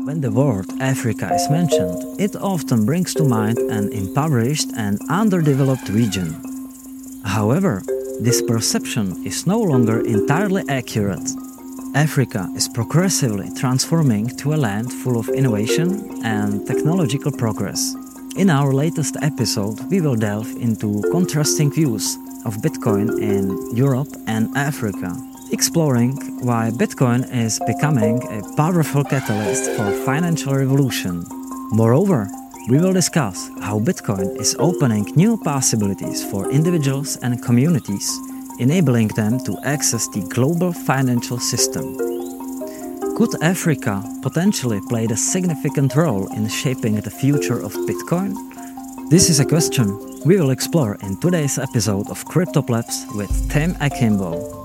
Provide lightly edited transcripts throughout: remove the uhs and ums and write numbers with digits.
When the word Africa is mentioned, it often brings to mind an impoverished and underdeveloped region. However, this perception is no longer entirely accurate. Africa is progressively transforming to a land full of innovation and technological progress. In our latest episode, we will delve into contrasting views of Bitcoin in Europe and Africa, exploring why Bitcoin is becoming a powerful catalyst for financial revolution. Moreover, we will discuss how Bitcoin is opening new possibilities for individuals and communities, enabling them to access the global financial system. Could Africa potentially play a significant role in shaping the future of Bitcoin? This is a question we will explore in today's episode of CryptoPlebs with Tim Akimbo.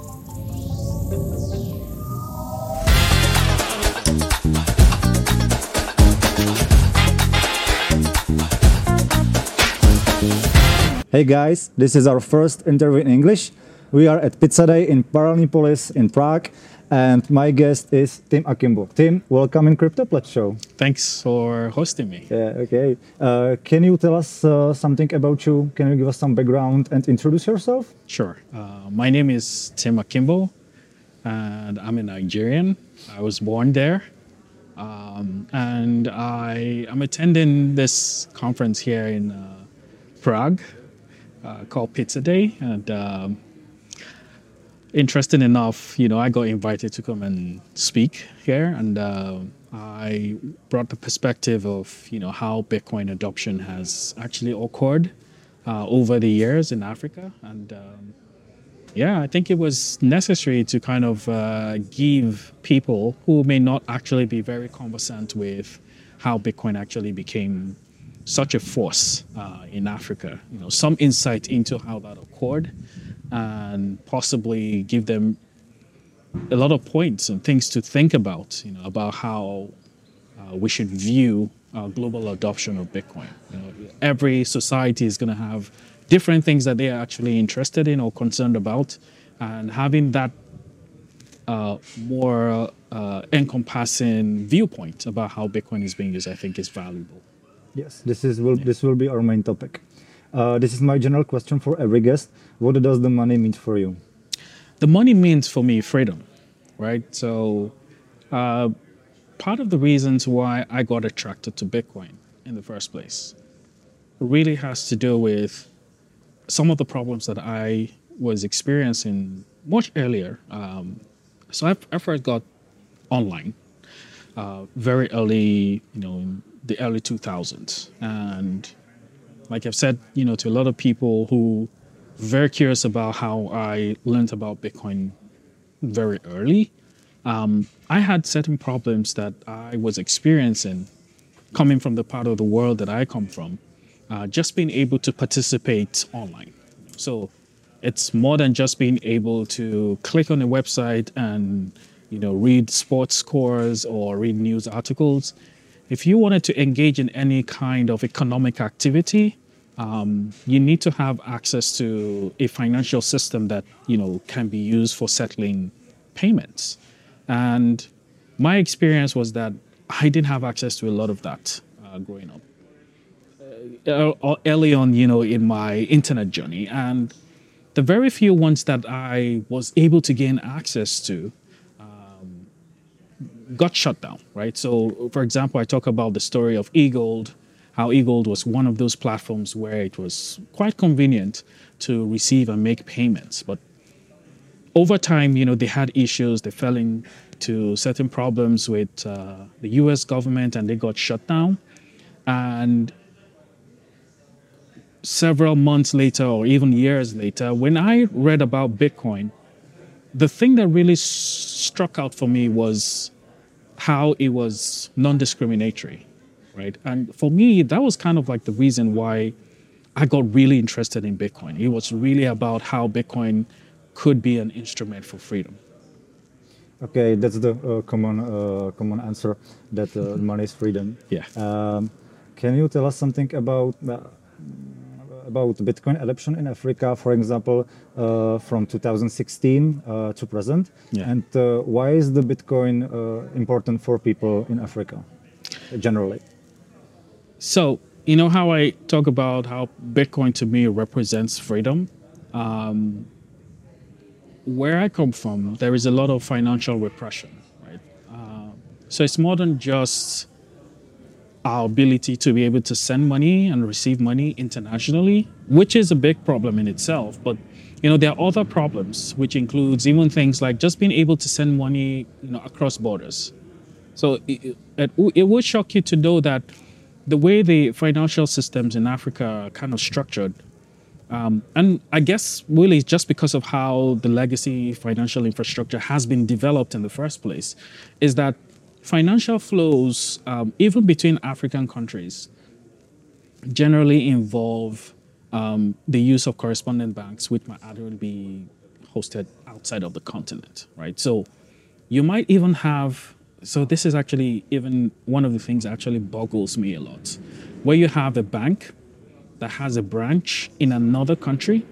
Hey guys, this is our first interview in English. We are at Pizza Day in Paralympolis in Prague, and my guest is Tim Akimbo. Tim, welcome in CryptoPlebs show. Thanks for hosting me. Yeah, okay. Can you tell us something about you? Can you give us some background and introduce yourself? Sure. My name is Tim Akimbo, and I'm a Nigerian. I was born there, and I'm attending this conference here in Prague called Pizza Day, and interesting enough, I got invited to come and speak here, and I brought the perspective of how Bitcoin adoption has actually occurred over the years in Africa, and I think it was necessary to kind of give people who may not actually be very conversant with how Bitcoin actually became such a force in Africa, some insight into how that occurred, and possibly give them a lot of points and things to think about, about how we should view global adoption of Bitcoin. Every society is going to have different things that they are actually interested in or concerned about, and having that more encompassing viewpoint about how Bitcoin is being used, I think, is valuable. Yes, this will be our main topic. This is my general question for every guest. What does the money mean for you? The money means for me freedom, right? So part of the reasons why I got attracted to Bitcoin in the first place really has to do with some of the problems that I was experiencing much earlier. So I first got online very early, in the early 2000s. And like I've said, to a lot of people who are very curious about how I learned about Bitcoin very early, I had certain problems that I was experiencing coming from the part of the world that I come from, just being able to participate online. So it's more than just being able to click on a website and, read sports scores or read news articles. If you wanted to engage in any kind of economic activity, you need to have access to a financial system that, can be used for settling payments. And my experience was that I didn't have access to a lot of that growing up. Early on, in my internet journey. And the very few ones that I was able to gain access to got shut down, right? So, for example, I talk about the story of eGold, how eGold was one of those platforms where it was quite convenient to receive and make payments. But over time, they had issues. They fell into certain problems with the US government, and they got shut down. And several months later, or even years later, when I read about Bitcoin, the thing that really struck out for me was how it was non-discriminatory, right? And for me, that was kind of like the reason why I got really interested in Bitcoin. It was really about how Bitcoin could be an instrument for freedom. Okay, that's the common answer, that money is freedom. Yeah. Can you tell us something about Bitcoin adoption in Africa, for example, from 2016 to present? Yeah. And why is the Bitcoin important for people in Africa? generally? So, you know how I talk about how Bitcoin to me represents freedom? Where I come from, there is a lot of financial repression, right? So it's more than just our ability to be able to send money and receive money internationally, which is a big problem in itself. But there are other problems, which includes even things like just being able to send money, across borders. So it would shock you to know that the way the financial systems in Africa are kind of structured, and I guess really it's just because of how the legacy financial infrastructure has been developed in the first place, is that financial flows, even between African countries, generally involve the use of correspondent banks, which might actually be hosted outside of the continent, right? So you might even have, so this is actually even one of the things that actually boggles me a lot, where you have a bank that has a branch in another country,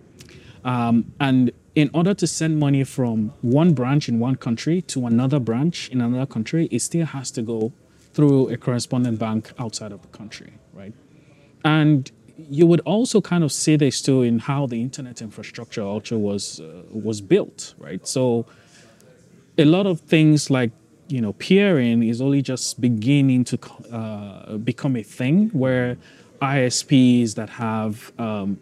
and in order to send money from one branch in one country to another branch in another country, it still has to go through a correspondent bank outside of the country, right? And you would also kind of see this too in how the internet infrastructure also was built, right? So a lot of things like peering is only just beginning to become a thing where ISPs that have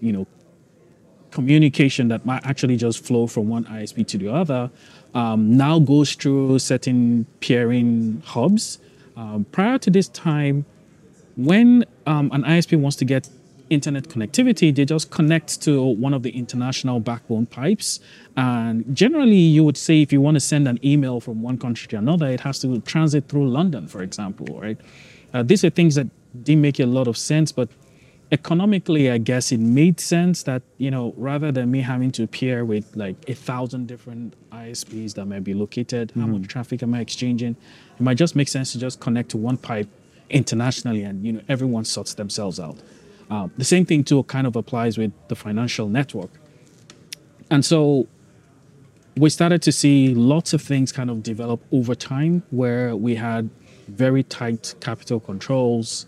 communication that might actually just flow from one ISP to the other now goes through certain peering hubs. Prior to this time, when an ISP wants to get internet connectivity, they just connect to one of the international backbone pipes. And generally, you would say if you want to send an email from one country to another, it has to transit through London, for example, right? These are things that didn't make a lot of sense, but economically, I guess it made sense that, rather than me having to peer with like 1,000 different ISPs that might be located, how much traffic am I exchanging? It might just make sense to just connect to one pipe internationally and, everyone sorts themselves out. The same thing too kind of applies with the financial network. And so we started to see lots of things kind of develop over time where we had very tight capital controls,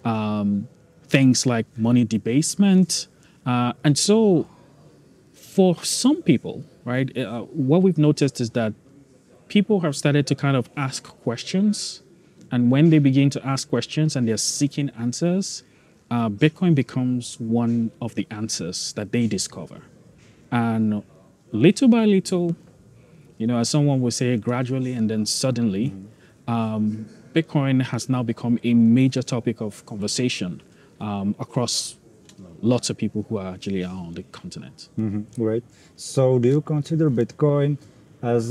things like money debasement. And so for some people, right, what we've noticed is that people have started to kind of ask questions. And when they begin to ask questions and they're seeking answers, Bitcoin becomes one of the answers that they discover. And little by little, as someone would say, gradually and then suddenly, Bitcoin has now become a major topic of conversation across lots of people who are actually on the continent. Great. So do you consider Bitcoin as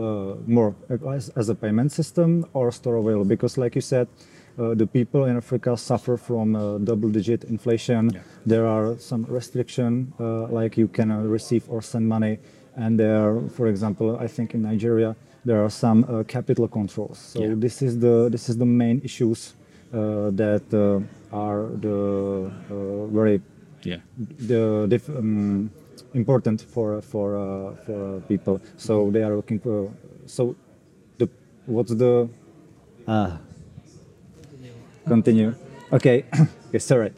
as a payment system or store of value? Because like you said, the people in Africa suffer from double-digit inflation. Yeah. There are some restriction, like you cannot receive or send money. And there are, for example, I think in Nigeria, there are some capital controls. So this is the main issues that are the very important for people. So they are looking for. So what's the continue? Okay, okay, sorry.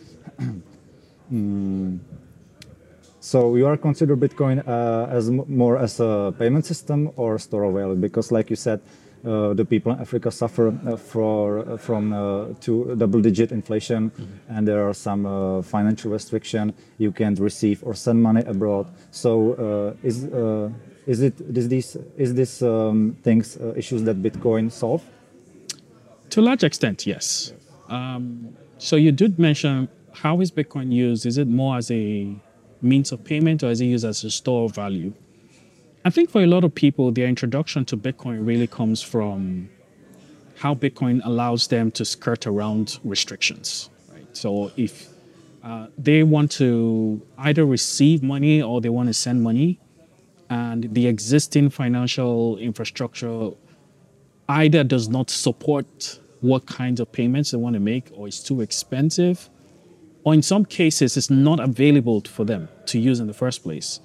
So you are consider Bitcoin as more as a payment system or store of value? Because like you said, the people in Africa suffer from double-digit inflation, and there are some financial restriction. You can't receive or send money abroad. So is this things issues that Bitcoin solve? To a large extent, yes. So you did mention, how is Bitcoin used? Is it more as a means of payment, or is it used as a store of value? I think for a lot of people, their introduction to Bitcoin really comes from how Bitcoin allows them to skirt around restrictions, right? So if they want to either receive money or they want to send money, and the existing financial infrastructure either does not support what kinds of payments they want to make, or it's too expensive, or in some cases, it's not available for them to use in the first place.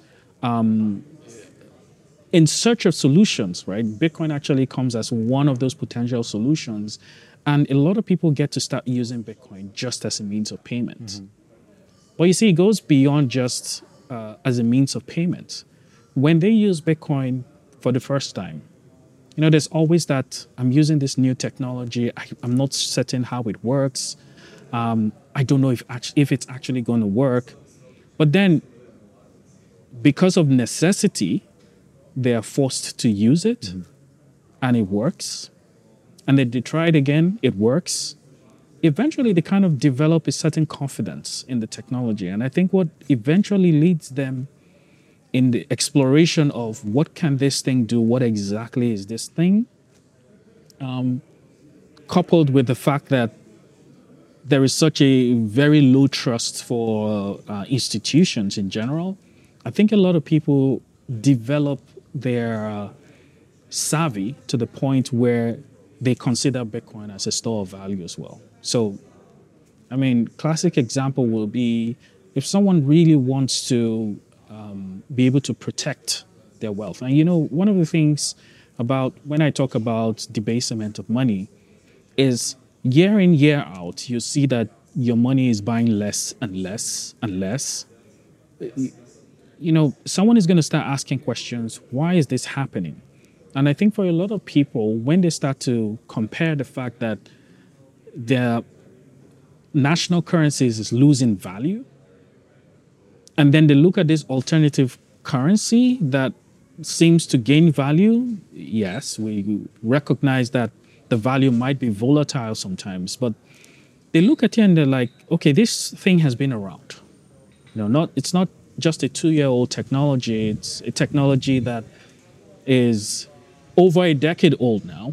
In search of solutions, right? Bitcoin actually comes as one of those potential solutions. And a lot of people get to start using Bitcoin just as a means of payment. But you see, it goes beyond just as a means of payment. When they use Bitcoin for the first time, there's always that I'm using this new technology. I'm not certain how it works. I don't know if it's actually going to work. But then, because of necessity, they are forced to use it, and it works. And then they try it again, it works. Eventually, they kind of develop a certain confidence in the technology. And I think what eventually leads them in the exploration of what can this thing do, what exactly is this thing, coupled with the fact that there is such a very low trust for institutions in general, I think a lot of people develop their savvy to the point where they consider Bitcoin as a store of value as well. So, classic example will be if someone really wants to be able to protect their wealth. And one of the things about when I talk about debasement of money is year in, year out, you see that your money is buying less and less and less. Someone is going to start asking questions, why is this happening? And I think for a lot of people, when they start to compare the fact that their national currencies is losing value, and then they look at this alternative currency that seems to gain value, yes, we recognize that the value might be volatile sometimes, but they look at it and they're like, okay, this thing has been around. It's not just a 2-year-old technology, it's a technology that is over a decade old now.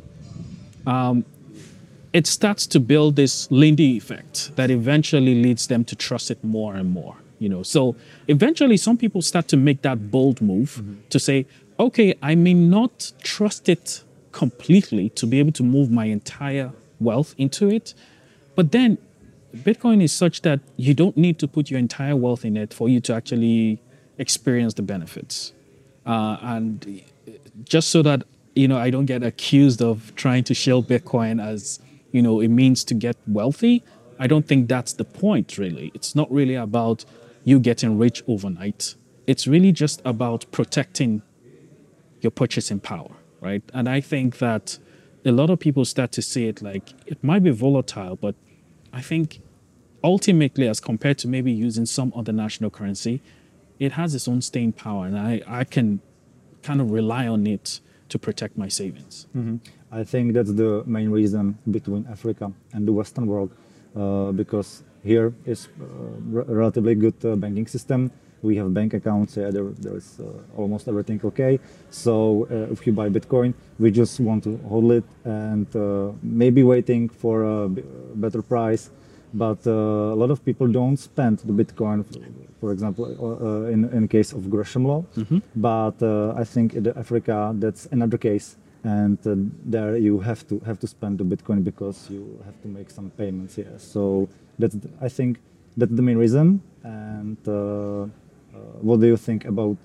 It starts to build this Lindy effect that eventually leads them to trust it more and more. So eventually some people start to make that bold move to say, okay, I may not trust it completely to be able to move my entire wealth into it, but then Bitcoin is such that you don't need to put your entire wealth in it for you to actually experience the benefits. And just so that, I don't get accused of trying to shill Bitcoin as, a means to get wealthy, I don't think that's the point, really. It's not really about you getting rich overnight. It's really just about protecting your purchasing power, right? And I think that a lot of people start to see it like it might be volatile, but I think ultimately, as compared to maybe using some other national currency, it has its own staying power, and I can kind of rely on it to protect my savings. I think that's the main reason between Africa and the Western world, because here is a relatively good banking system. We have bank accounts, there's almost everything okay. So if you buy Bitcoin, we just want to hold it and maybe waiting for a better price. But a lot of people don't spend the Bitcoin, for example, in case of Gresham law. But I think in Africa, that's another case. And there you have to spend the Bitcoin because you have to make some payments here. So I think that's the main reason. And what do you think about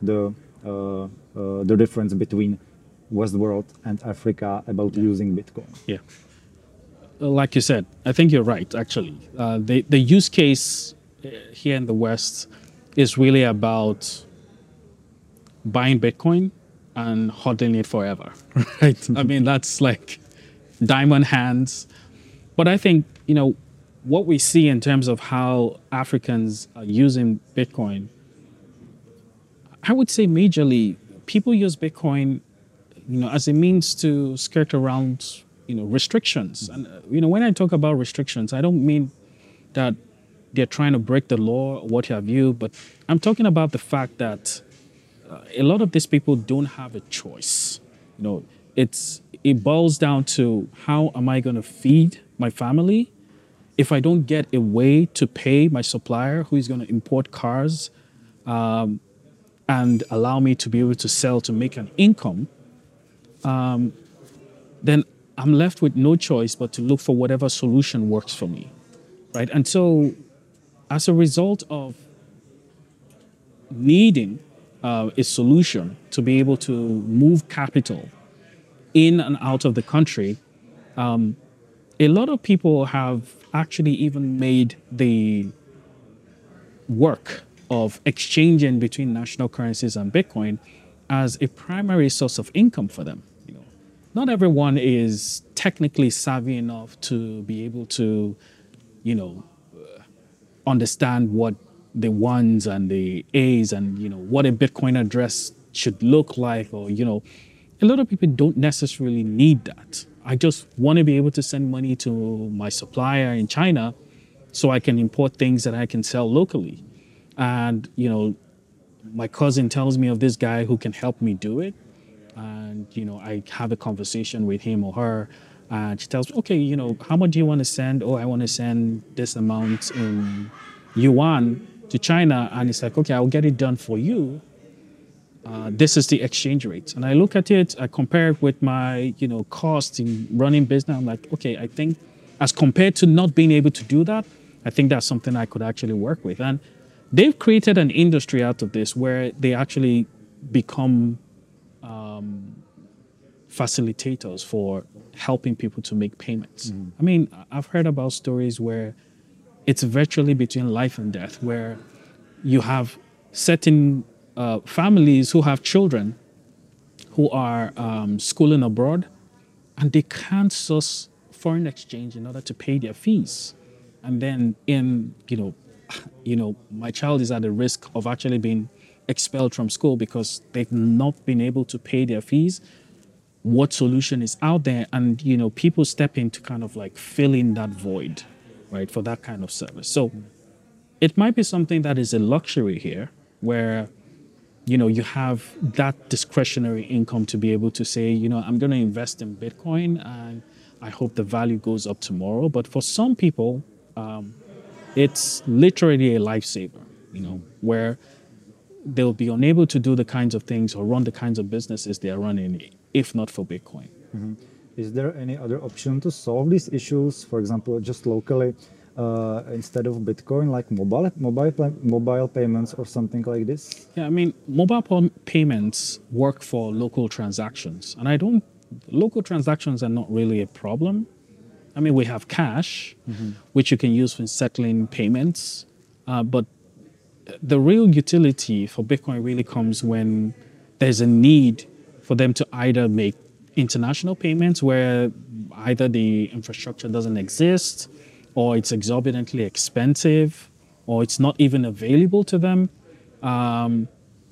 the difference between West world and Africa about using Bitcoin? Yeah. Like you said, I think you're right, actually. The use case here in the West is really about buying Bitcoin and holding it forever, right? That's like diamond hands. But I think, what we see in terms of how Africans are using Bitcoin, I would say majorly, people use Bitcoin, as a means to skirt around restrictions. And, when I talk about restrictions, I don't mean that they're trying to break the law or what have you, but I'm talking about the fact that a lot of these people don't have a choice. It boils down to how am I going to feed my family if I don't get a way to pay my supplier who is going to import cars and allow me to be able to sell to make an income, then I'm left with no choice but to look for whatever solution works for me, right? And so as a result of needing a solution to be able to move capital in and out of the country, a lot of people have actually even made the work of exchanging between national currencies and Bitcoin as a primary source of income for them. You know, not everyone is technically savvy enough to be able to, you know, understand what the ones and the A's and, you know, what a Bitcoin address should look like, or, you know, a lot of people don't necessarily need that. I just want to be able to send money to my supplier in China so I can import things that I can sell locally. And, you know, my cousin tells me of this guy who can help me do it. And, you know, I have a conversation with him or her, and she tells me, okay, you know, how much do you want to send? Oh, I want to send this amount in yuan to China. And it's like, okay, I'll get it done for you. This is the exchange rate. And I look at it, I compare it with my, you know, cost in running business. I'm like, okay, I think as compared to not being able to do that, I think that's something I could actually work with. And they've created an industry out of this where they actually become facilitators for helping people to make payments. I mean, I've heard about stories where it's virtually between life and death, where you have certain families who have children who are schooling abroad, and they can't source foreign exchange in order to pay their fees. And then my child is at the risk of actually being expelled from school because they've not been able to pay their fees. What solution is out there? And, you know, people step in to kind of like fill in that void, right, for that kind of service. So it might be something that is a luxury here where, you know, you have that discretionary income to be able to say, you know, I'm going to invest in Bitcoin and I hope the value goes up tomorrow. But for some people, it's literally a lifesaver, you know, where they'll be unable to do the kinds of things or run the kinds of businesses they are running if not for Bitcoin. Is there any other option to solve these issues? For example, just locally, instead of Bitcoin, like mobile payments or something like this? Yeah, I mean, payments work for local transactions, and local transactions are not really a problem. I mean, we have cash, which you can use for settling payments, but the real utility for Bitcoin really comes when there's a need for them to either make international payments where either the infrastructure doesn't exist, or it's exorbitantly expensive, or it's not even available to them. And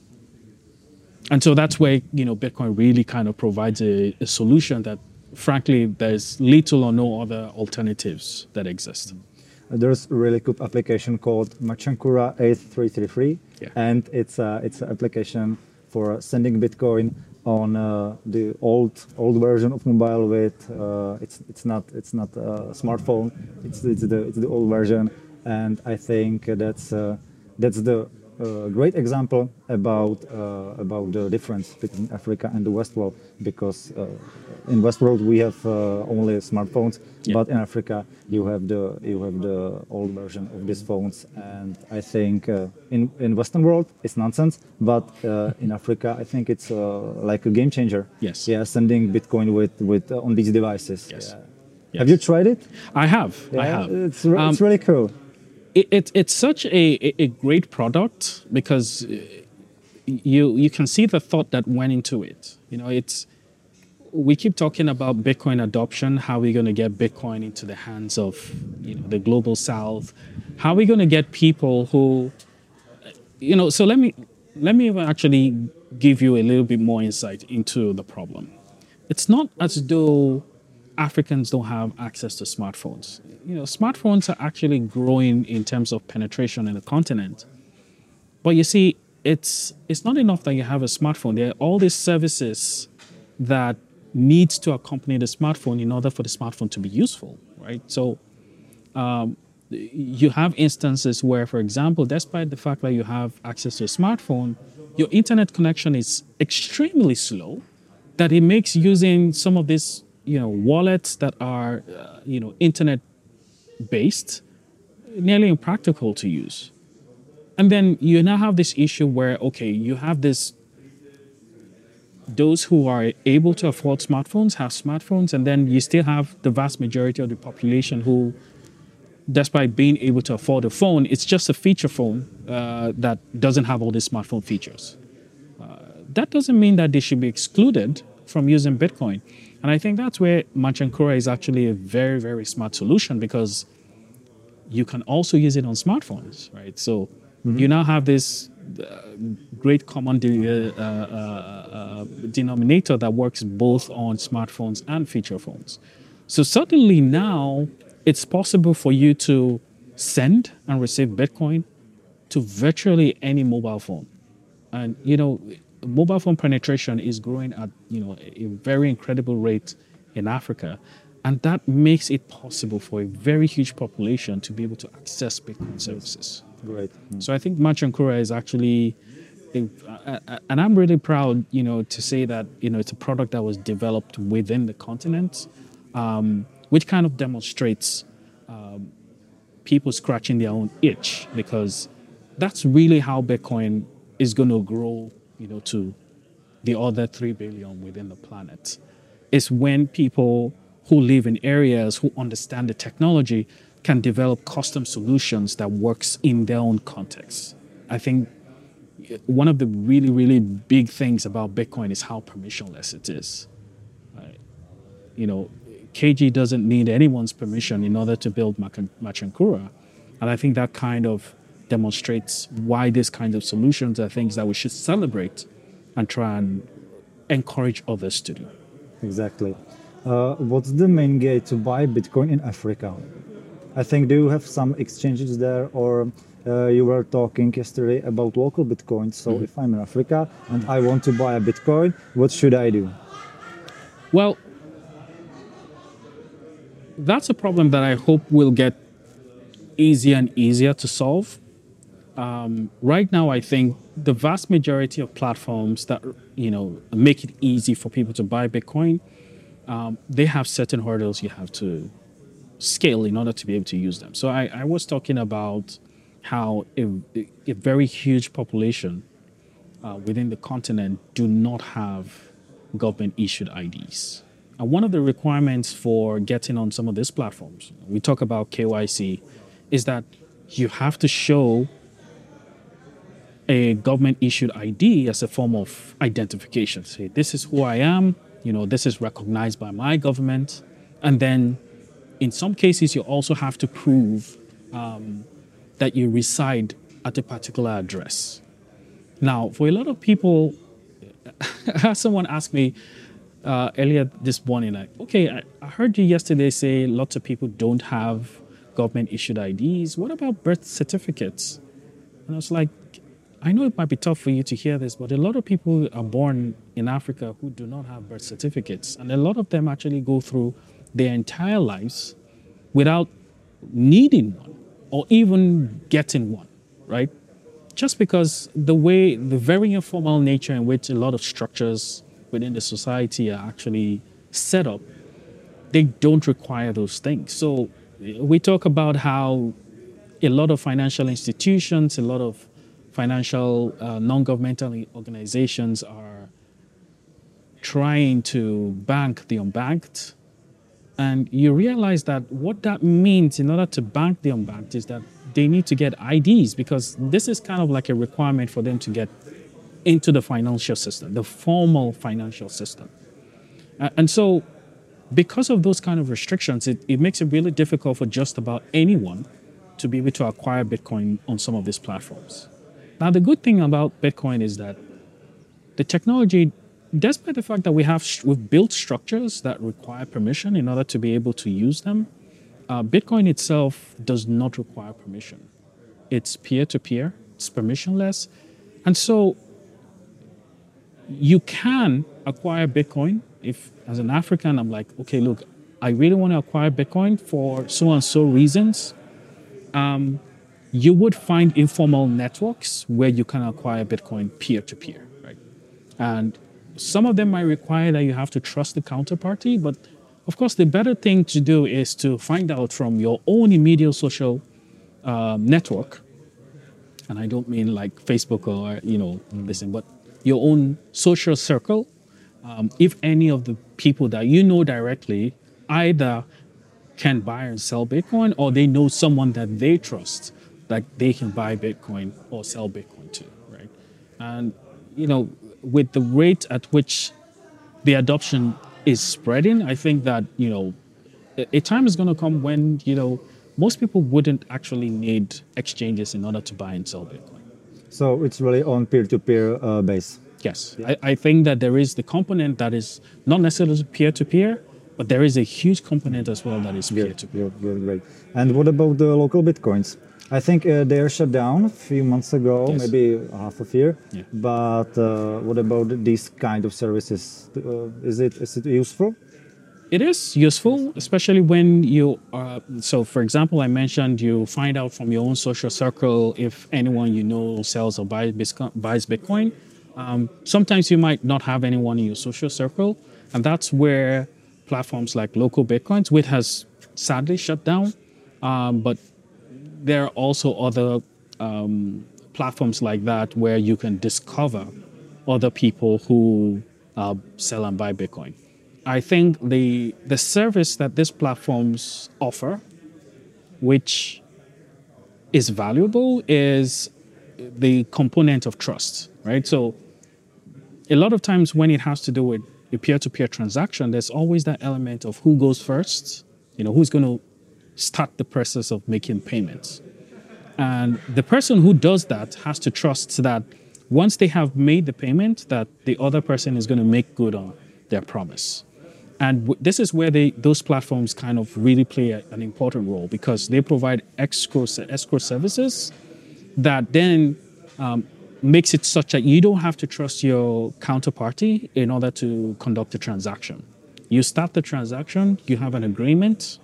so that's where, you know, Bitcoin really kind of provides a solution that, frankly, there's little or no other alternatives that exist. There's a really good application called Machankura 8333, Yeah. and it's an application for sending Bitcoin on the old version of mobile with it's not a smartphone, it's the old version, and I think that's the great example about the difference between Africa and the West world, because in West world we have only smartphones, but in Africa you have the old version of these phones, and I think in Western world it's nonsense, but in Africa I think it's like a game changer. Yes. Yeah, sending Bitcoin with on these devices. Yes. Yeah. Yes. Have you tried it? I have. Yeah, I have. It's really cool. It's such a great product because you can see the thought that went into it. You know, we keep talking about Bitcoin adoption. How are we going to get Bitcoin into the hands of, you know, the global South? How are we going to get people who, you know? So let me actually give you a little bit more insight into the problem. It's not as though Africans don't have access to smartphones. You know, smartphones are actually growing in terms of penetration in the continent. But you see, it's not enough that you have a smartphone. There are all these services that needs to accompany the smartphone in order for the smartphone to be useful, right? So you have instances where, for example, despite the fact that you have access to a smartphone, your internet connection is extremely slow, that it makes using some of these, you know, wallets that are, internet based, nearly impractical to use. And then you now have this issue where, okay, you have this those who are able to afford smartphones have smartphones, and then you still have the vast majority of the population who, despite being able to afford a phone, it's just a feature phone that doesn't have all the smartphone features. That doesn't mean that they should be excluded from using Bitcoin. And I think that's where Machankura is actually a very, very smart solution, because you can also use it on smartphones, right? So you now have this great common denominator that works both on smartphones and feature phones. So suddenly now it's possible for you to send and receive Bitcoin to virtually any mobile phone. And, mobile phone penetration is growing at, a very incredible rate in Africa. And that makes it possible for a very huge population to be able to access Bitcoin services. Great. So I think Machankura is actually, and I'm really proud, to say that, it's a product that was developed within the continent, which kind of demonstrates people scratching their own itch, because that's really how Bitcoin is going to grow, to the other 3 billion within the planet. It's when people who live in areas who understand the technology can develop custom solutions that works in their own context. I think one of the really, really big things about Bitcoin is how permissionless it is. KG doesn't need anyone's permission in order to build Machankura. And I think that kind of demonstrates why these kinds of solutions are things that we should celebrate and try and encourage others to do. Exactly. What's the main gate to buy Bitcoin in Africa? I think, do you have some exchanges there, or you were talking yesterday about local Bitcoin. So if I'm in Africa and I want to buy a Bitcoin, what should I do? Well, that's a problem that I hope will get easier and easier to solve. Right now, I think the vast majority of platforms that make it easy for people to buy Bitcoin, they have certain hurdles you have to scale in order to be able to use them. So I was talking about how a very huge population within the continent do not have government-issued IDs. And one of the requirements for getting on some of these platforms, we talk about KYC, is that you have to show a government-issued ID as a form of identification. Say, this is who I am, this is recognized by my government. And then in some cases, you also have to prove that you reside at a particular address. Now, for a lot of people, someone asked me earlier this morning, like, okay, I heard you yesterday say lots of people don't have government-issued IDs. What about birth certificates? And I was like, I know it might be tough for you to hear this, but a lot of people are born in Africa who do not have birth certificates. And a lot of them actually go through their entire lives without needing one or even getting one, right? Just because the very informal nature in which a lot of structures within the society are actually set up, they don't require those things. So we talk about how a lot of financial institutions, a lot of financial non-governmental organizations are trying to bank the unbanked. And you realize that what that means in order to bank the unbanked is that they need to get IDs, because this is kind of like a requirement for them to get into the financial system, the formal financial system. And so because of those kind of restrictions, it makes it really difficult for just about anyone to be able to acquire Bitcoin on some of these platforms. Now, the good thing about Bitcoin is that the technology, despite the fact that we've built structures that require permission in order to be able to use them, Bitcoin itself does not require permission. It's peer-to-peer, it's permissionless. And so you can acquire Bitcoin if, as an African, I'm like, okay, look, I really want to acquire Bitcoin for so and so reasons. You would find informal networks where you can acquire Bitcoin peer-to-peer, right? And some of them might require that you have to trust the counterparty, but of course, the better thing to do is to find out from your own immediate social network, and I don't mean like Facebook or, listen, but your own social circle, if any of the people that you know directly either can buy and sell Bitcoin, or they know someone that they trust that they can buy Bitcoin or sell Bitcoin to, right? And with the rate at which the adoption is spreading, I think that a time is going to come when most people wouldn't actually need exchanges in order to buy and sell Bitcoin. So it's really on peer-to-peer base. Yes, I think that there is the component that is not necessarily peer-to-peer, but there is a huge component as well that is peer-to-peer. Good, great. And what about the local Bitcoins? I think they're shut down a few months ago, Yes. maybe half a year. Yeah. But what about these kind of services? Is it useful? It is useful, especially when you are. So, for example, I mentioned you find out from your own social circle if anyone you know sells or buys Bitcoin. Sometimes you might not have anyone in your social circle, and that's where platforms like Local Bitcoins, which has sadly shut down, but there are also other platforms like that where you can discover other people who sell and buy Bitcoin. I think the service that these platforms offer, which is valuable, is the component of trust, right? So a lot of times when it has to do with a peer-to-peer transaction, there's always that element of who goes first, who's going to start the process of making payments. And the person who does that has to trust that once they have made the payment, that the other person is going to make good on their promise. And this is where those platforms kind of really play an important role, because they provide escrow services that then makes it such that you don't have to trust your counterparty in order to conduct a transaction. You start the transaction, you have an agreement,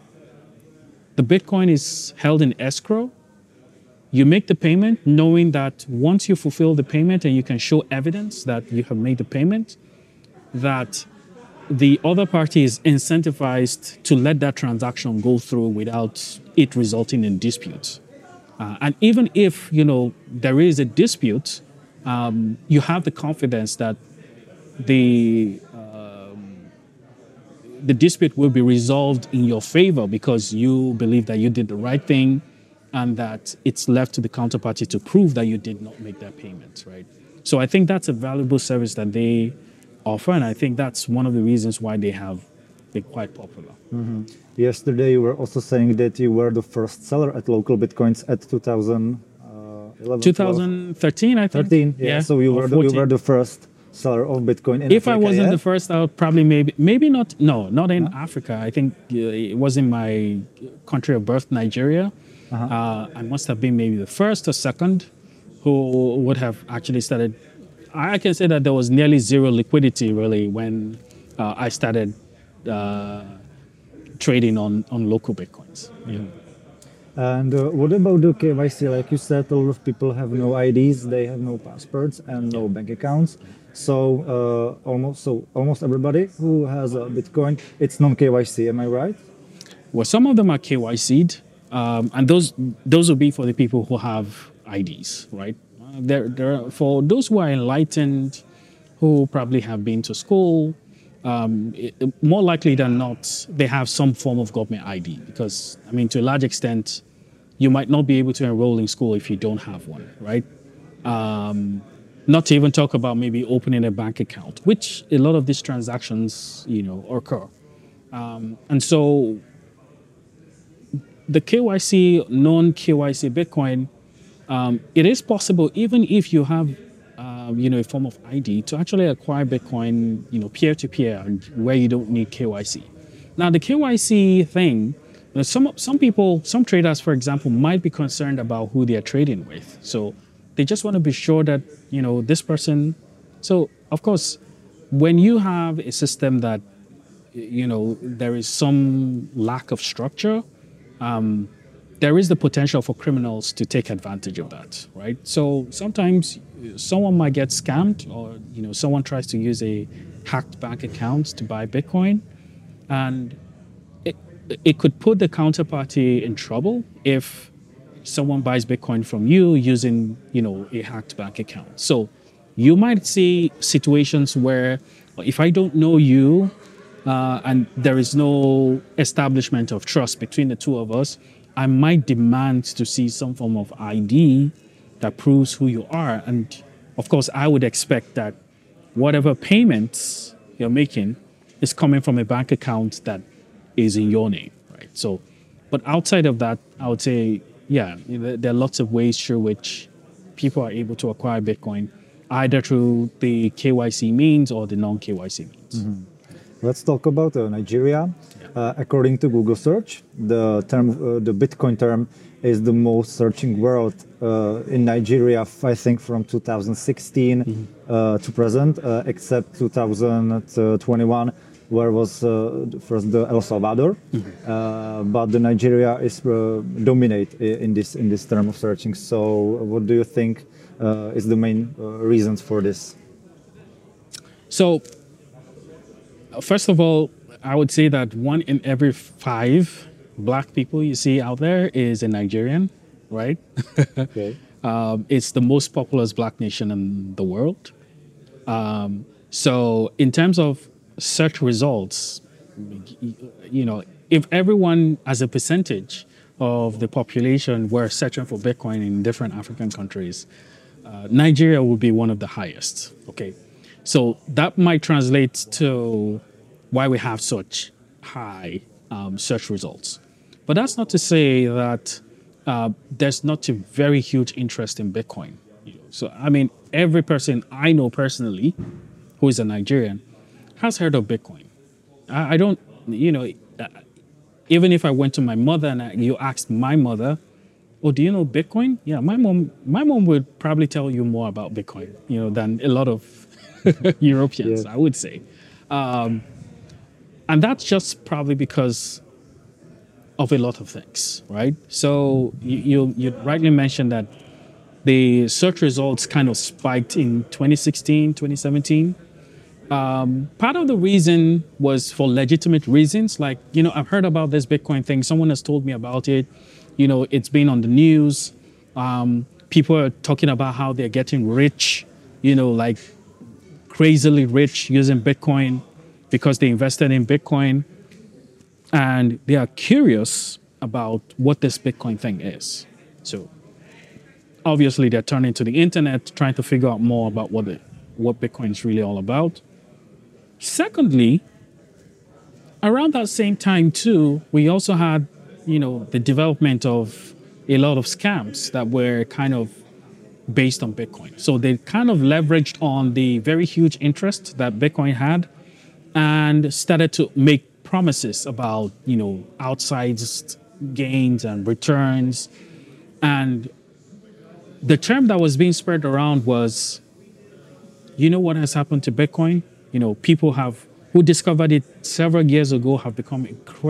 the Bitcoin is held in escrow, you make the payment knowing that once you fulfill the payment and you can show evidence that you have made the payment, that the other party is incentivized to let that transaction go through without it resulting in dispute. And even if there is a dispute, you have the confidence that the dispute will be resolved in your favor because you believe that you did the right thing, and that it's left to the counterparty to prove that you did not make that payment, right? So I think that's a valuable service that they offer, and I think that's one of the reasons why they have been quite popular. Mm-hmm. Yesterday, you were also saying that you were the first seller at Local Bitcoins at 2011, 2013, I think. 13, yeah. So you were the first seller of Bitcoin in If Africa, I wasn't yeah? the first, I would probably maybe not. No, not in Africa. I think it was in my country of birth, Nigeria. I must have been maybe the first or second who would have actually started. I can say that there was nearly zero liquidity really when I started trading on local Bitcoins. Yeah. And what about the KYC? Like you said, a lot of people have no IDs, they have no passports and no bank accounts. So almost everybody who has a Bitcoin, it's non-KYC. Am I right? Well, some of them are KYC'd, and those will be for the people who have IDs, right? There are, for those who are enlightened, who probably have been to school, more likely than not, they have some form of government ID, because, I mean, to a large extent, you might not be able to enroll in school if you don't have one, right? Not to even talk about maybe opening a bank account, which a lot of these transactions, occur. And so the KYC, non-KYC Bitcoin, it is possible, even if you have a form of ID, to actually acquire Bitcoin, peer-to-peer, where you don't need KYC. Now, the KYC thing, some people, some traders, for example, might be concerned about who they are trading with. So they just want to be sure that, this person. So, of course, when you have a system that, there is some lack of structure, there is the potential for criminals to take advantage of that, right? So sometimes someone might get scammed, or someone tries to use a hacked bank account to buy Bitcoin, and it could put the counterparty in trouble if someone buys Bitcoin from you using a hacked bank account. So you might see situations where if I don't know you and there is no establishment of trust between the two of us, I might demand to see some form of ID that proves who you are. And of course, I would expect that whatever payments you're making is coming from a bank account that is in your name, right? So, but outside of that, I would say, yeah, there are lots of ways through which people are able to acquire Bitcoin, either through the KYC means or the non-KYC means. Let's talk about Nigeria. According to Google search, the Bitcoin term is the most searching word in Nigeria, I think from 2016 to present, except 2021, where was first the El Salvador. But the Nigeria is dominate in this term of searching. So what do you think is the main reasons for this? So, first of all, I would say that 1 in every 5 black people you see out there is a Nigerian, right? Okay. It's the most populous black nation in the world. So in terms of search results, you know, if everyone as a percentage of the population were searching for Bitcoin in different African countries, Nigeria would be one of the highest, okay? So that might translate to why we have such high search results. But that's not to say that there's not a very huge interest in Bitcoin. So, I mean, every person I know personally who is a Nigerian has heard of Bitcoin. I don't, even if I went to my mother and you asked my mother, oh, do you know Bitcoin? Yeah, my mom would probably tell you more about Bitcoin, than a lot of Europeans, I would say. And that's just probably because of a lot of things, right? So you rightly mentioned that the search results kind of spiked in 2016, 2017. Part of the reason was for legitimate reasons. Like, I've heard about this Bitcoin thing. Someone has told me about it. It's been on the news. People are talking about how they're getting rich, like crazily rich using Bitcoin because they invested in Bitcoin. And they are curious about what this Bitcoin thing is. So obviously they're turning to the internet, trying to figure out more about what Bitcoin is really all about. Secondly, around that same time too, we also had, the development of a lot of scams that were kind of based on Bitcoin. So they kind of leveraged on the very huge interest that Bitcoin had and started to make promises about, outsized gains and returns. And the term that was being spread around was, what has happened to Bitcoin? People who discovered it several years ago have become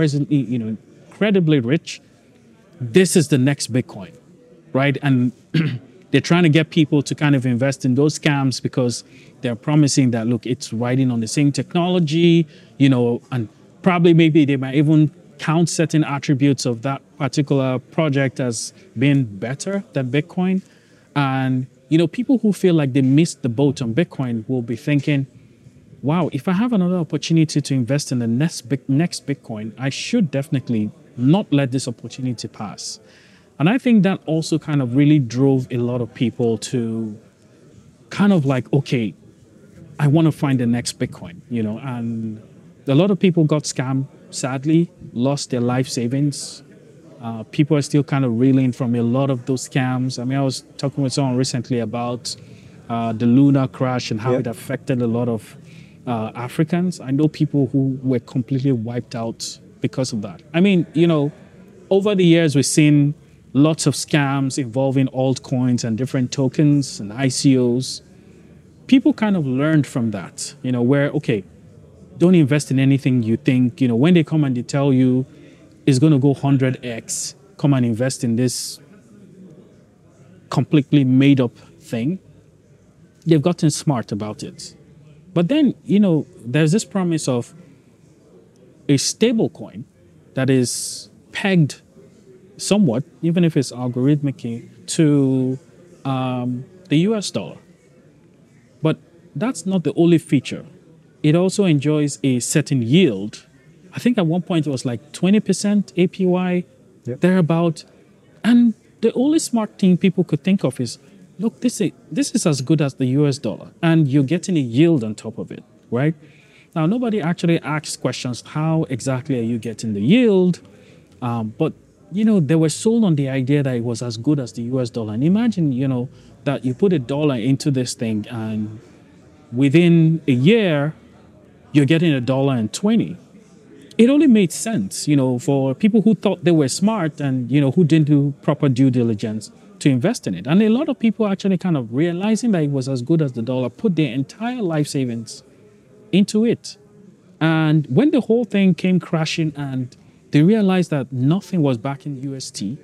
incredibly rich. This is the next Bitcoin, right? And they're trying to get people to kind of invest in those scams because they're promising that, look, it's riding on the same technology, and probably maybe they might even count certain attributes of that particular project as being better than Bitcoin. And, people who feel like they missed the boat on Bitcoin will be thinking, wow, if I have another opportunity to invest in the next Bitcoin, I should definitely not let this opportunity pass. And I think that also kind of really drove a lot of people to kind of like, okay, I want to find the next Bitcoin, and a lot of people got scammed, sadly, lost their life savings. People are still kind of reeling from a lot of those scams. I mean, I was talking with someone recently about the lunar crash and how it affected a lot of Africans. I know people who were completely wiped out because of that. I mean, over the years, we've seen lots of scams involving altcoins and different tokens and ICOs. People kind of learned from that, where, okay, don't invest in anything you think, when they come and they tell you it's going to go 100x, come and invest in this completely made up thing. They've gotten smart about it. But then, there's this promise of a stable coin that is pegged somewhat, even if it's algorithmic, to the US dollar. that's not the only feature. It also enjoys a certain yield. I think at one point it was like 20% APY, Yep. thereabout. And the only smart thing people could think of is, look, this is as good as the US dollar, and you're getting a yield on top of it, right? Now, nobody actually asks questions, how exactly are you getting the yield? But, they were sold on the idea that it was as good as the US dollar. And imagine, that you put a dollar into this thing, and within a year, you're getting $1.20. It only made sense, for people who thought they were smart and, who didn't do proper due diligence to invest in it. And a lot of people actually kind of realizing that it was as good as the dollar put their entire life savings into it. And when the whole thing came crashing and they realized that nothing was back in UST,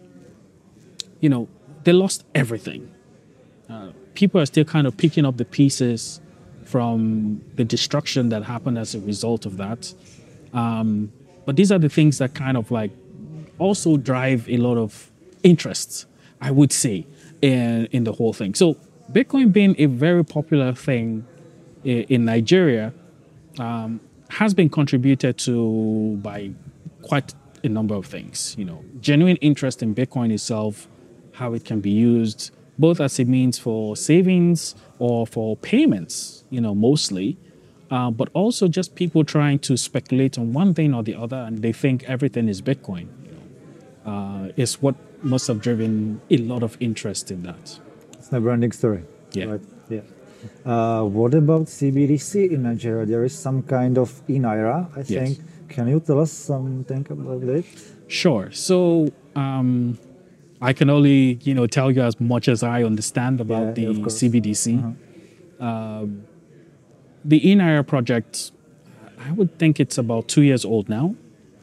they lost everything. People are still kind of picking up the pieces from the destruction that happened as a result of that. But these are the things that kind of like also drive a lot of interest, I would say, in the whole thing. So Bitcoin being a very popular thing in Nigeria has been contributed to by quite a number of things. Genuine interest in Bitcoin itself, how it can be used, both as a means for savings or for payments, mostly, but also just people trying to speculate on one thing or the other, and they think everything is Bitcoin. Is what must have driven a lot of interest in that. It's a branding story. Yeah. Right? Yeah. What about CBDC in Nigeria? There is some kind of e-Naira, I think. Can you tell us something about it? Sure. So I can only, tell you as much as I understand about the CBDC. The e-Naira project, I would think it's about 2 years old now.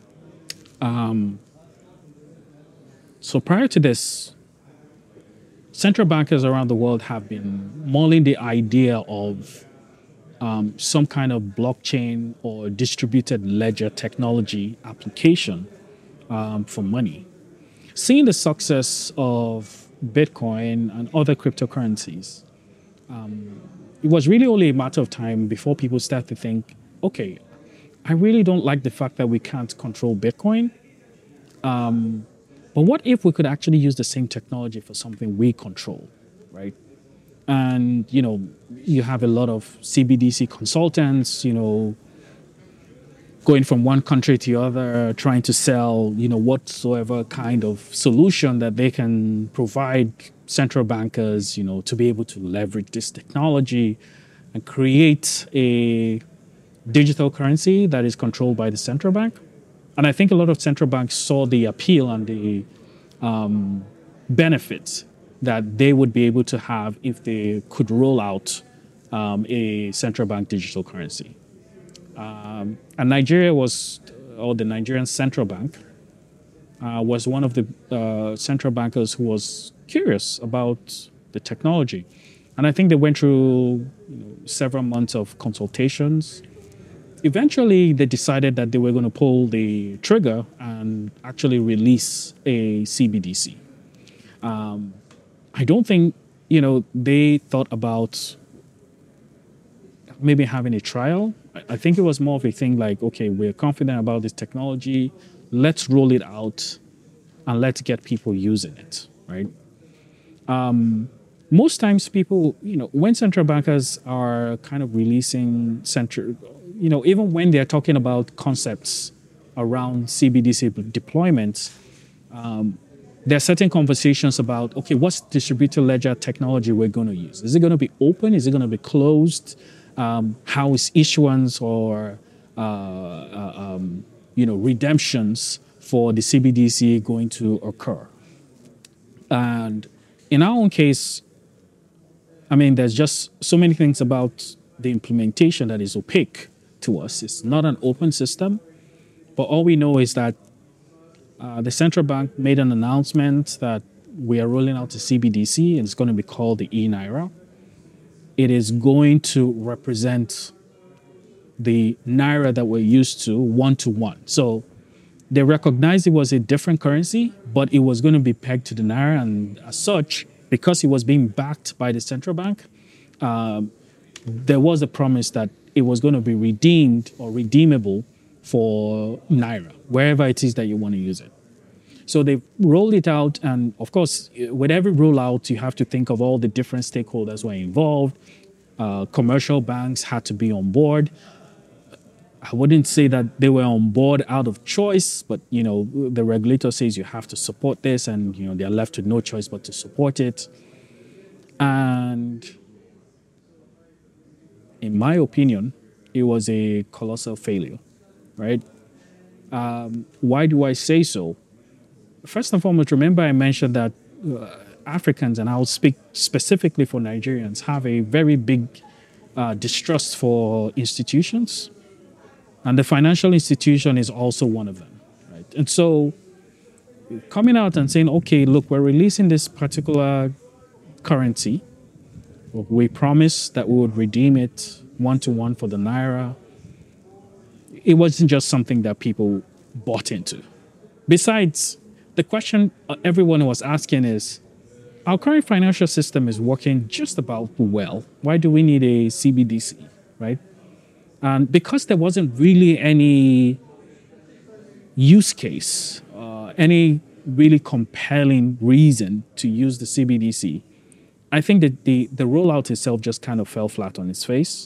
So prior to this, central bankers around the world have been mulling the idea of some kind of blockchain or distributed ledger technology application for money. Seeing the success of Bitcoin and other cryptocurrencies, it was really only a matter of time before people start to think, okay, I really don't like the fact that we can't control Bitcoin. But what if we could actually use the same technology for something we control, right? And, you have a lot of CBDC consultants, going from one country to the other, trying to sell, whatsoever kind of solution that they can provide central bankers, to be able to leverage this technology and create a digital currency that is controlled by the central bank. And I think a lot of central banks saw the appeal and the benefits that they would be able to have if they could roll out a central bank digital currency. And Nigeria the Nigerian central bank was one of the central bankers who was curious about the technology. And I think they went through several months of consultations. Eventually, they decided that they were going to pull the trigger and actually release a CBDC. I don't think, they thought about maybe having a trial. I think it was more of a thing like, okay, we're confident about this technology. Let's roll it out and let's get people using it, right? Most times people, when central bankers are kind of releasing even when they're talking about concepts around CBDC deployments, there are certain conversations about, okay, what's distributed ledger technology we're going to use? Is it going to be open? Is it going to be closed? How is issuance or, redemptions for the CBDC going to occur? And in our own case, there's just so many things about the implementation that is opaque to us. It's not an open system, but all we know is that the central bank made an announcement that we are rolling out a CBDC, and it's going to be called the e-Naira. It is going to represent the Naira that we're used to one-to-one. So they recognized it was a different currency, but it was going to be pegged to the Naira, and as such, because it was being backed by the central bank, there was a promise that it was going to be redeemed or redeemable for Naira, wherever it is that you want to use it. So they rolled it out, and of course, with every rollout, you have to think of all the different stakeholders who are involved. Commercial banks had to be on board. I wouldn't say that they were on board out of choice, but the regulator says you have to support this, and they're left with no choice but to support it. And in my opinion, it was a colossal failure, right? Why do I say so? First and foremost, remember I mentioned that Africans, and I'll speak specifically for Nigerians, have a very big distrust for institutions. And the financial institution is also one of them, right? And so coming out and saying, okay, look, we're releasing this particular currency. We promised that we would redeem it one-to-one for the Naira. It wasn't just something that people bought into. Besides, the question everyone was asking is, our current financial system is working just about well. Why do we need a CBDC, right? And because there wasn't really any use case, any really compelling reason to use the CBDC, I think that the rollout itself just kind of fell flat on its face.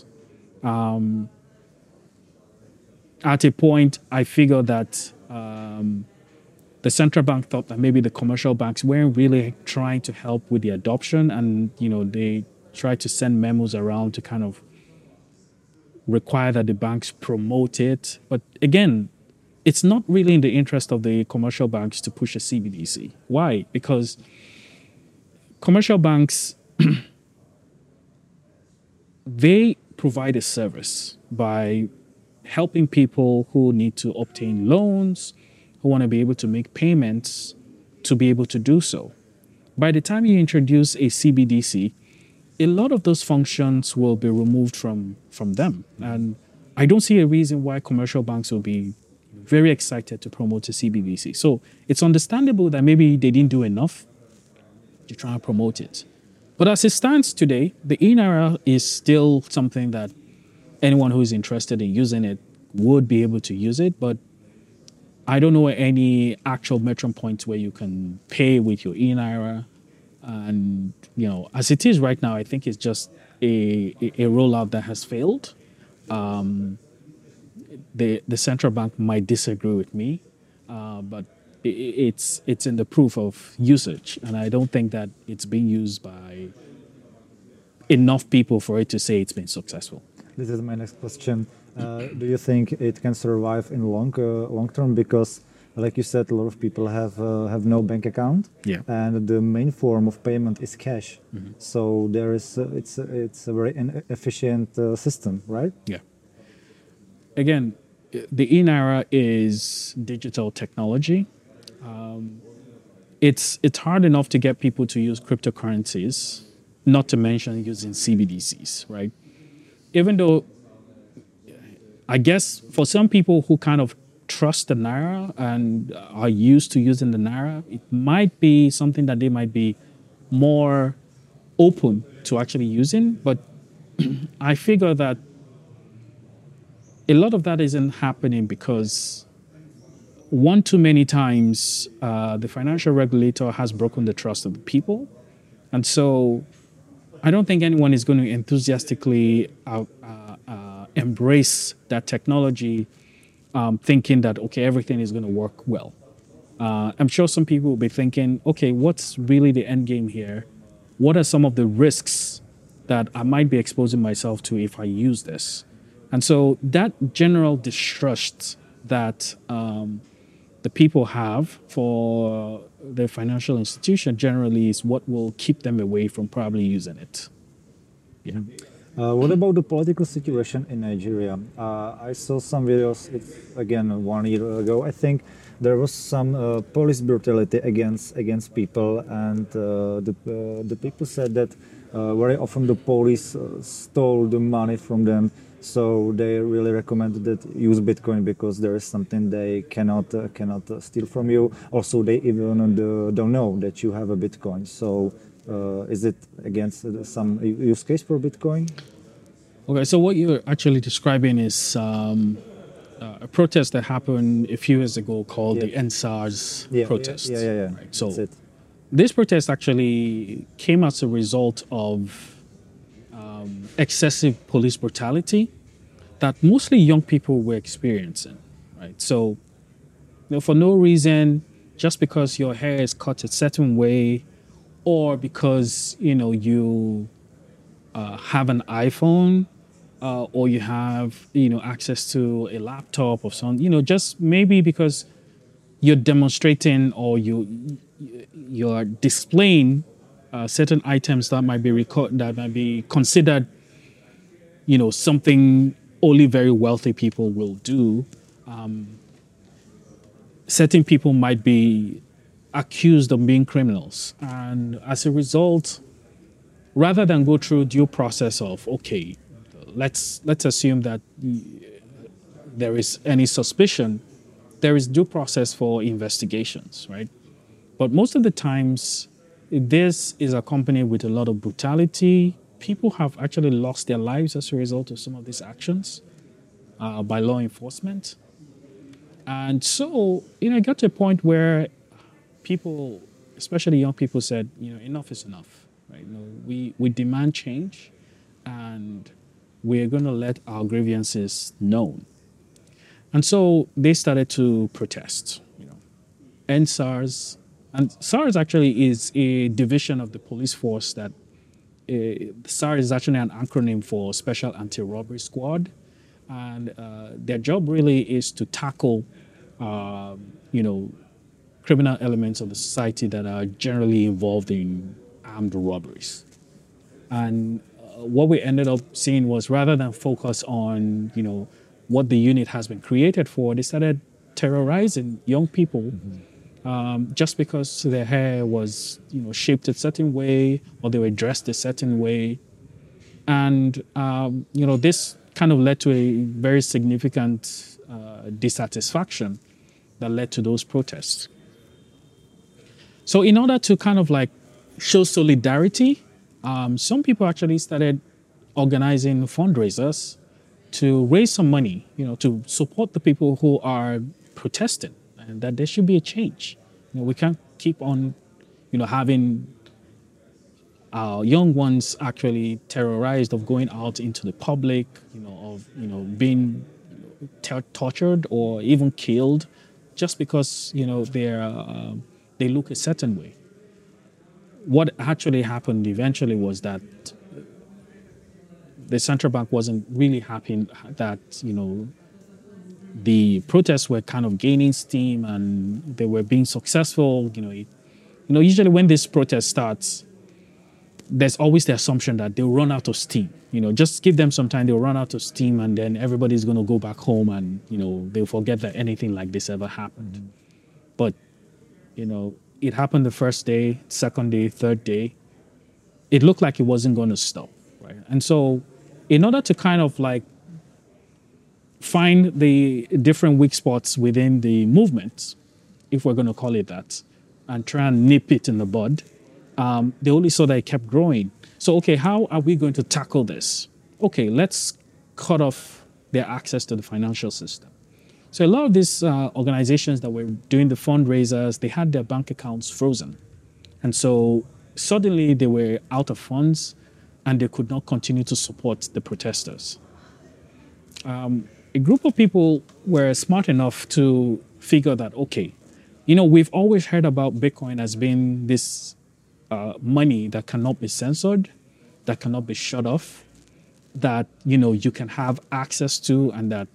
At a point, I figured that the central bank thought that maybe the commercial banks weren't really trying to help with the adoption, and they tried to send memos around to kind of require that the banks promote it. But again, it's not really in the interest of the commercial banks to push a CBDC. Why? Because commercial banks, they provide a service by helping people who need to obtain loans, who want to be able to make payments, to be able to do so. By the time you introduce a CBDC, a lot of those functions will be removed from them. And I don't see a reason why commercial banks will be very excited to promote a CBDC. So it's understandable that maybe they didn't do enough to try and promote it. But as it stands today, the e-Naira is still something that anyone who is interested in using it would be able to use it. But I don't know any actual metron points where you can pay with your e-Naira. And, as it is right now, I think it's just a rollout that has failed. The central bank might disagree with me, but it's in the proof of usage. And I don't think that it's being used by enough people for it to say it's been successful. This is my next question. Do you think it can survive in long term? Because, like you said, a lot of people have no bank account, and the main form of payment is cash. Mm-hmm. So there is it's a very inefficient system, right? Yeah. Again, the e-Naira is digital technology. It's hard enough to get people to use cryptocurrencies, not to mention using CBDCs, right? Even though, I guess for some people who kind of trust the Naira and are used to using the Naira, it might be something that they might be more open to actually using. But I figure that a lot of that isn't happening because one too many times the financial regulator has broken the trust of the people. And so I don't think anyone is going to enthusiastically embrace that technology thinking that, okay, everything is going to work well. I'm sure some people will be thinking, okay, what's really the end game here? What are some of the risks that I might be exposing myself to if I use this? And so that general distrust that the people have for the financial institution generally is what will keep them away from probably using it. Yeah. What about the political situation in Nigeria? I saw some videos, again, 1 year ago. I think there was some police brutality against people, and the people said that very often the police stole the money from them. So they really recommended that use Bitcoin because there is something they cannot steal from you. Also, they even don't know that you have a Bitcoin. So is it against some use case for Bitcoin? Okay, so what you're actually describing is a protest that happened a few years ago called the NSARS protest. Yeah. Right? So That's it. this protest actually came as a result of excessive police brutality that mostly young people were experiencing. Right? So, for no reason, just because your hair is cut a certain way, or because you have an iPhone, or you have access to a laptop or something, just maybe because you're demonstrating or you're displaying certain items that might be considered something only very wealthy people will do. Certain people might be accused of being criminals, and as a result, rather than go through due process of, okay, let's assume that there is any suspicion, there is due process for investigations, right? But most of the times, this is accompanied with a lot of brutality. People have actually lost their lives as a result of some of these actions by law enforcement. And so, it got to a point where people, especially young people, said, enough is enough, right? We demand change, and we're going to let our grievances known. And so they started to protest, And SARS actually is a division of the police force that SARS is actually an acronym for Special Anti-Robbery Squad. And their job really is to tackle, criminal elements of the society that are generally involved in armed robberies. And what we ended up seeing was, rather than focus on, what the unit has been created for, they started terrorizing young people just because their hair was, shaped a certain way, or they were dressed a certain way. And, this kind of led to a very significant dissatisfaction that led to those protests. So in order to kind of like show solidarity, some people actually started organizing fundraisers to raise some money, to support the people who are protesting, and that there should be a change. We can't keep on, having our young ones actually terrorized of going out into the public, of being tortured or even killed, just because they look a certain way. What actually happened eventually was that the central bank wasn't really happy that the protests were kind of gaining steam and they were being successful. Usually when this protest starts, there's always the assumption that they'll run out of steam. Just give them some time, they'll run out of steam, and then everybody's going to go back home and they'll forget that anything like this ever happened. Mm-hmm. But it happened the first day, second day, third day. It looked like it wasn't going to stop, right? And so, in order to kind of like find the different weak spots within the movement, if we're going to call it that, and try and nip it in the bud, they only saw that it kept growing. So, okay, how are we going to tackle this? Okay, let's cut off their access to the financial system. So a lot of these organizations that were doing the fundraisers, they had their bank accounts frozen. And so suddenly they were out of funds and they could not continue to support the protesters. A group of people were smart enough to figure that, okay, we've always heard about Bitcoin as being this money that cannot be censored, that cannot be shut off, that, you can have access to, and that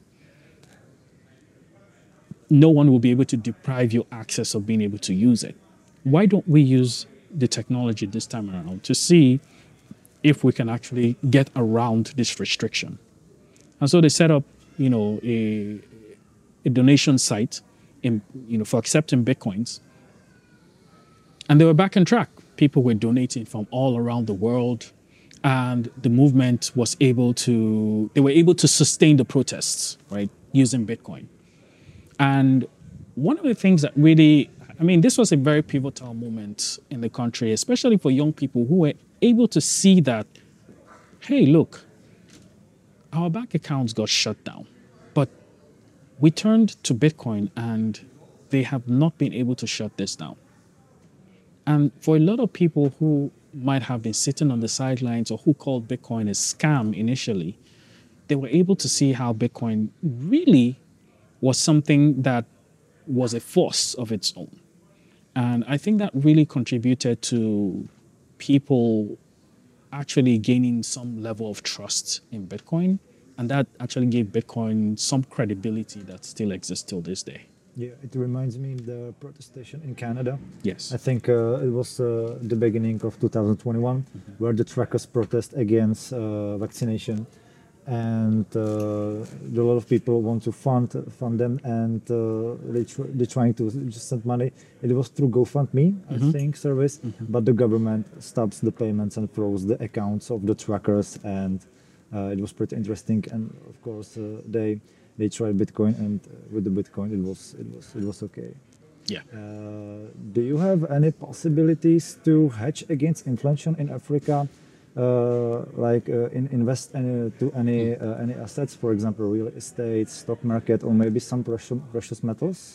no one will be able to deprive you access of being able to use it. Why don't we use the technology this time around to see if we can actually get around this restriction? And so they set up, a donation site for accepting Bitcoins. And they were back on track. People were donating from all around the world, and the movement was they were able to sustain the protests, right, using Bitcoin. And one of the things that really, this was a very pivotal moment in the country, especially for young people who were able to see that, hey, look, our bank accounts got shut down. But we turned to Bitcoin and they have not been able to shut this down. And for a lot of people who might have been sitting on the sidelines or who called Bitcoin a scam initially, they were able to see how Bitcoin really was something that was a force of its own. And I think that really contributed to people actually gaining some level of trust in Bitcoin. And that actually gave Bitcoin some credibility that still exists till this day. Yeah, it reminds me of the protestation in Canada. Yes. I think it was the beginning of 2021 where the truckers protest against vaccination, and a lot of people want to fund them, and they're trying to just send money. It was through GoFundMe, I think, service, but the government stops the payments and froze the accounts of the truckers, and it was pretty interesting. And of course, they tried Bitcoin, and with the Bitcoin, it was okay. Yeah. Do you have any possibilities to hedge against inflation in Africa, invest to any assets, for example, real estate, stock market, or maybe some precious metals?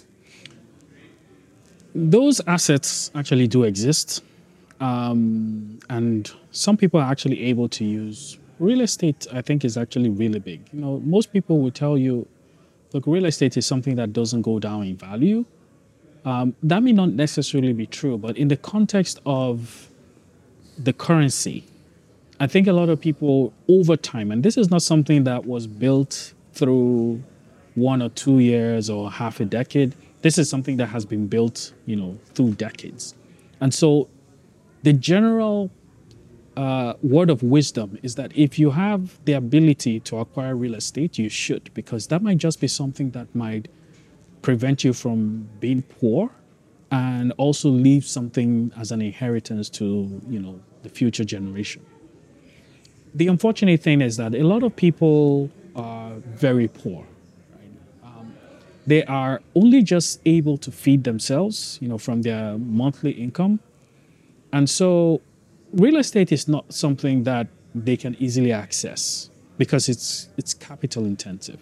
Those assets actually do exist. And some people are actually able to use real estate. I think is actually really big. You know, most people will tell you, look, real estate is something that doesn't go down in value. That may not necessarily be true, but in the context of the currency, I think a lot of people over time, and this is not something that was built through 1 or 2 years or half a decade. This is something that has been built, through decades. And so the general word of wisdom is that if you have the ability to acquire real estate, you should, because that might just be something that might prevent you from being poor and also leave something as an inheritance to, the future generation. The unfortunate thing is that a lot of people are very poor. They are only just able to feed themselves, from their monthly income. And so real estate is not something that they can easily access because it's capital intensive.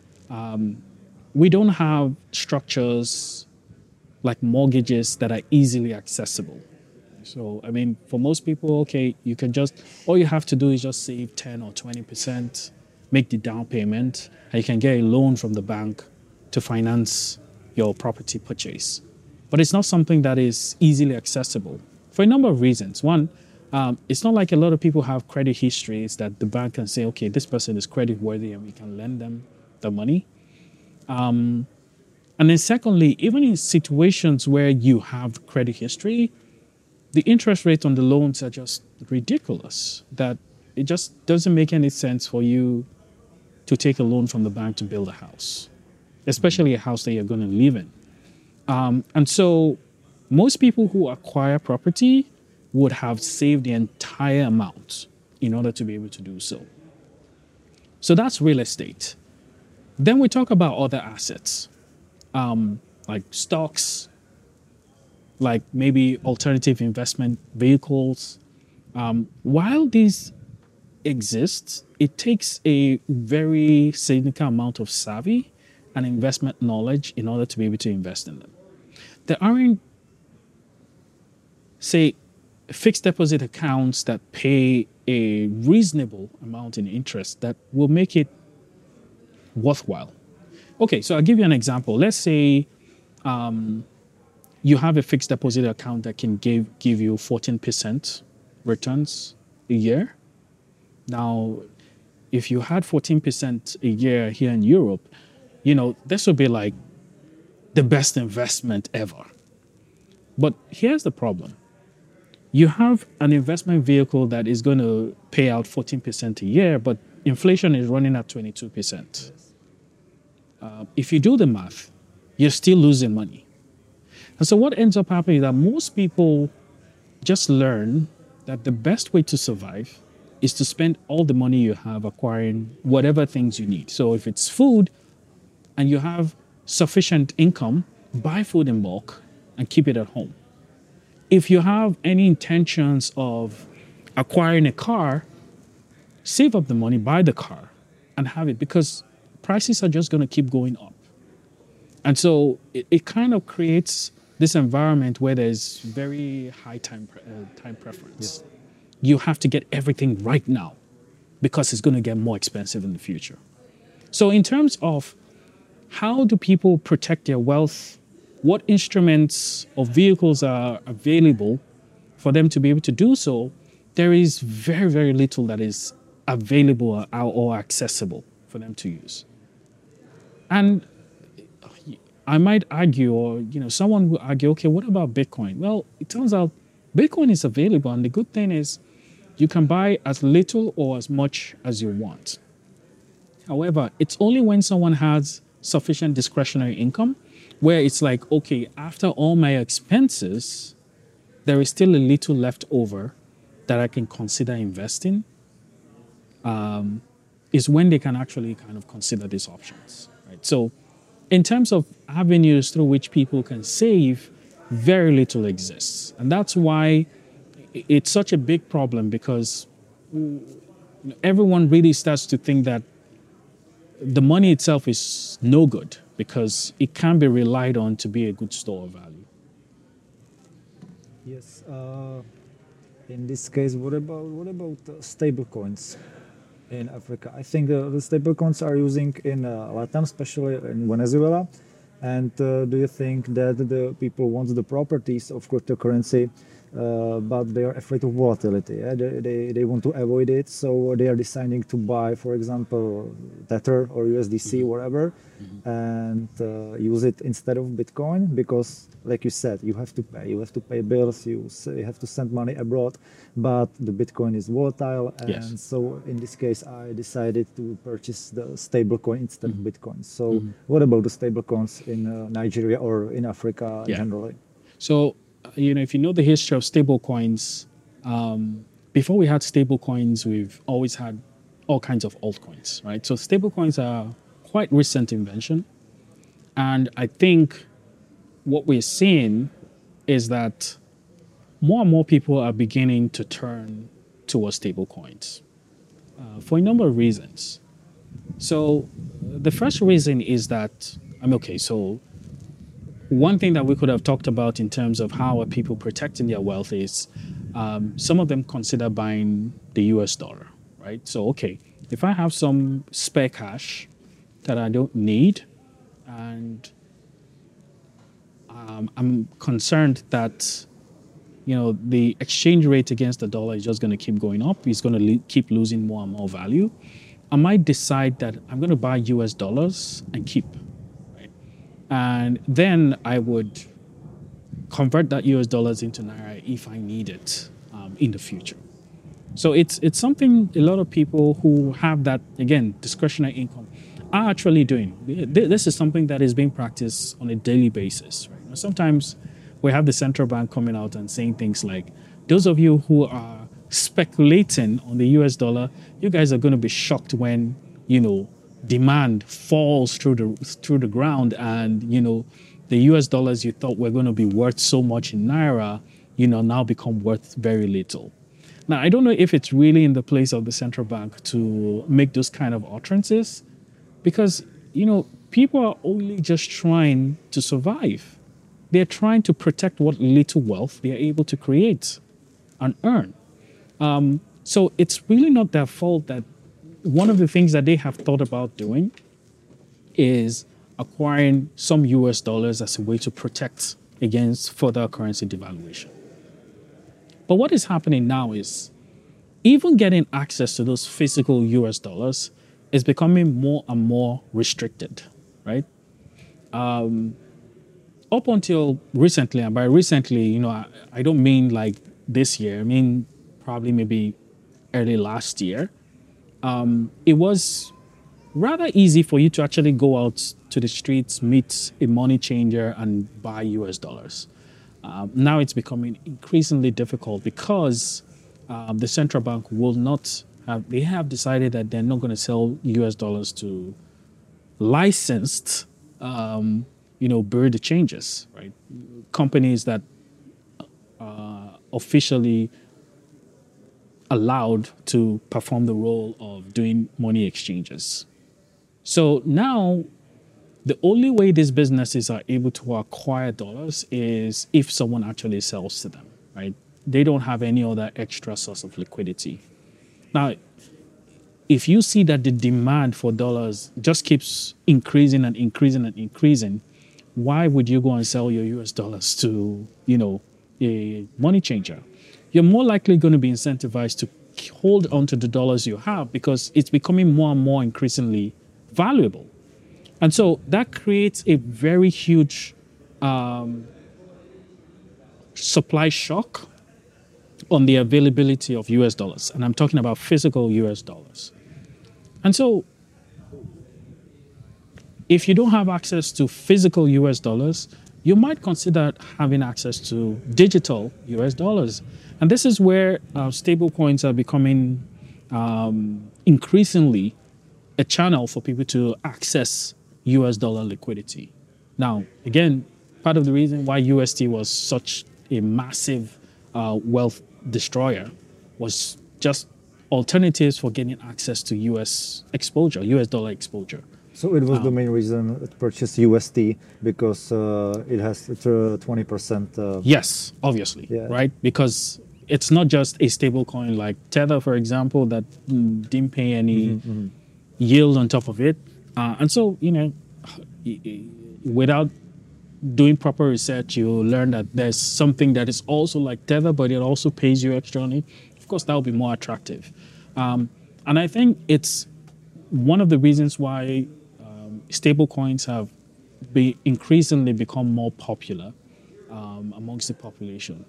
We don't have structures like mortgages that are easily accessible. So, for most people, okay, all you have to do is just save 10 or 20%, make the down payment, and you can get a loan from the bank to finance your property purchase. But it's not something that is easily accessible for a number of reasons. One, it's not like a lot of people have credit histories that the bank can say, okay, this person is credit worthy and we can lend them the money. And then secondly, even in situations where you have credit history, the interest rates on the loans are just ridiculous, that it just doesn't make any sense for you to take a loan from the bank to build a house, especially a house that you're going to live in. And so most people who acquire property would have saved the entire amount in order to be able to do so. So that's real estate. Then we talk about other assets, like stocks, like maybe alternative investment vehicles. While these exist, it takes a very significant amount of savvy and investment knowledge in order to be able to invest in them. There aren't, say, fixed deposit accounts that pay a reasonable amount in interest that will make it worthwhile. Okay, so I'll give you an example. Let's say you have a fixed deposit account that can give you 14% returns a year. Now, if you had 14% a year here in Europe, this would be like the best investment ever. But here's the problem. You have an investment vehicle that is going to pay out 14% a year, but inflation is running at 22%. If you do the math, you're still losing money. And so what ends up happening is that most people just learn that the best way to survive is to spend all the money you have acquiring whatever things you need. So if it's food and you have sufficient income, buy food in bulk and keep it at home. If you have any intentions of acquiring a car, save up the money, buy the car, and have it because prices are just going to keep going up. And so it kind of creates this environment where there's very high time preference. You have to get everything right now because it's going to get more expensive in the future. So in terms of how do people protect their wealth, what instruments or vehicles are available for them to be able to do so, there is very, very little that is available or accessible for them to use. And I might argue, or someone will argue, okay, what about Bitcoin? Well, it turns out Bitcoin is available, and the good thing is you can buy as little or as much as you want. However, it's only when someone has sufficient discretionary income where it's like, okay, after all my expenses, there is still a little left over that I can consider investing, is when they can actually kind of consider these options. Right? So in terms of avenues through which people can save, very little exists. And that's why it's such a big problem, because everyone really starts to think that the money itself is no good because it can be relied on to be a good store of value. Yes. In this case, what about stable coins in Africa? I think the stable coins are using in Latam, especially in Venezuela. And do you think that the people want the properties of cryptocurrency, but they are afraid of volatility? Yeah? They want to avoid it, so they are deciding to buy, for example, Tether or USDC, whatever, and use it instead of Bitcoin because, like you said, you have to pay bills, you have to send money abroad, but the Bitcoin is volatile, and so in this case, I decided to purchase the stable coin instead of Bitcoin. So, what about the stable coins in Nigeria or in Africa generally? So, if you know the history of stable coins, before we had stable coins, we've always had all kinds of altcoins, right? So stable coins are quite recent invention. And I think what we're seeing is that more and more people are beginning to turn towards stable coins for a number of reasons. So the first reason is that, so one thing that we could have talked about in terms of how are people protecting their wealth is some of them consider buying the US dollar, right? So, okay, if I have some spare cash that I don't need and I'm concerned that, the exchange rate against the dollar is just going to keep going up, it's going to keep losing more and more value, I might decide that I'm going to buy US dollars and keep. And then I would convert that US dollars into Naira if I need it in the future. So it's something a lot of people who have that, again, discretionary income are actually doing. This is something that is being practiced on a daily basis. Right? Sometimes we have the central bank coming out and saying things like, those of you who are speculating on the US dollar, you guys are going to be shocked when, demand falls through the ground and the US dollars you thought were going to be worth so much in Naira now become worth very little. Now I don't know if it's really in the place of the central bank to make those kind of utterances, because people are only just trying to survive. They're trying to protect what little wealth they're able to create and earn. So it's really not their fault that one of the things that they have thought about doing is acquiring some US dollars as a way to protect against further currency devaluation. But what is happening now is even getting access to those physical US dollars is becoming more and more restricted, right? Up until recently, and by recently, I don't mean like this year, I mean probably maybe early last year, it was rather easy for you to actually go out to the streets, meet a money changer, and buy US dollars. Now it's becoming increasingly difficult because the central bank will not have, they have decided that they're not going to sell US dollars to licensed, bureau de changes, right? Companies that officially allowed to perform the role of doing money exchanges. So now, the only way these businesses are able to acquire dollars is if someone actually sells to them, right? They don't have any other extra source of liquidity. Now, if you see that the demand for dollars just keeps increasing and increasing and increasing, why would you go and sell your US dollars to, a money changer? You're more likely going to be incentivized to hold onto the dollars you have because it's becoming more and more increasingly valuable. And so that creates a very huge supply shock on the availability of US dollars. And I'm talking about physical US dollars. And so if you don't have access to physical US dollars, you might consider having access to digital US dollars. And this is where stable coins are becoming increasingly a channel for people to access US dollar liquidity. Now, again, part of the reason why USD was such a massive wealth destroyer was just alternatives for getting access to US exposure, US dollar exposure. So it was the main reason to purchase USD because it has 20%. Yes, obviously, Yeah. right? Because it's not just a stable coin like Tether, for example, that didn't pay any yield on top of it. And so, without doing proper research, you learn that there's something that is also like Tether, but it also pays you extra on it. Of course, that would be more attractive. And I think it's one of the reasons why stable coins have increasingly become more popular amongst the population.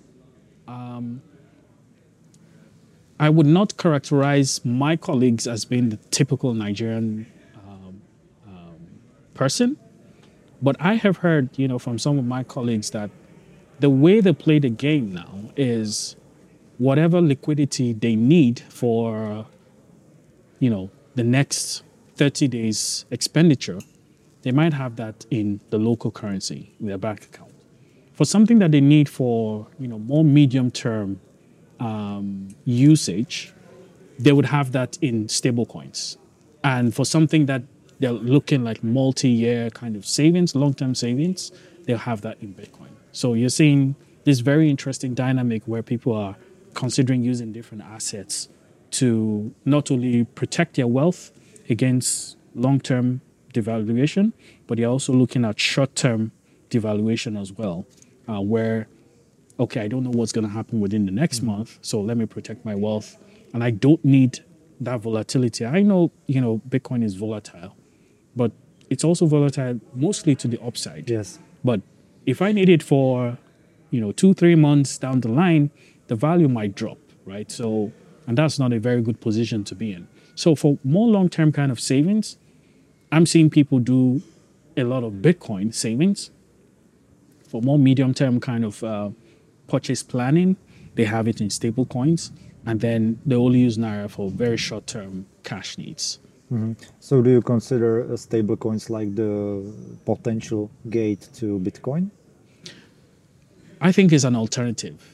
I would not characterize my colleagues as being the typical Nigerian person, but I have heard, from some of my colleagues that the way they play the game now is whatever liquidity they need for, the next 30 days expenditure, they might have that in the local currency in their bank account. For something that they need for, more medium-term usage, they would have that in stable coins. And for something that they're looking like multi-year kind of savings, long-term savings, they'll have that in Bitcoin. So you're seeing this very interesting dynamic where people are considering using different assets to not only protect their wealth against long-term devaluation, but they're also looking at short-term devaluation as well, where, okay, I don't know what's going to happen within the next month, so let me protect my wealth. And I don't need that volatility. I know, Bitcoin is volatile, but it's also volatile mostly to the upside. Yes. But if I need it for, 2-3 months down the line, the value might drop, right? So, and that's not a very good position to be in. So for more long-term kind of savings, I'm seeing people do a lot of Bitcoin savings. For more medium-term kind of purchase planning, they have it in stable coins, and then they only use Naira for very short-term cash needs. So do you consider stable coins like the potential gate to Bitcoin? I think it's an alternative.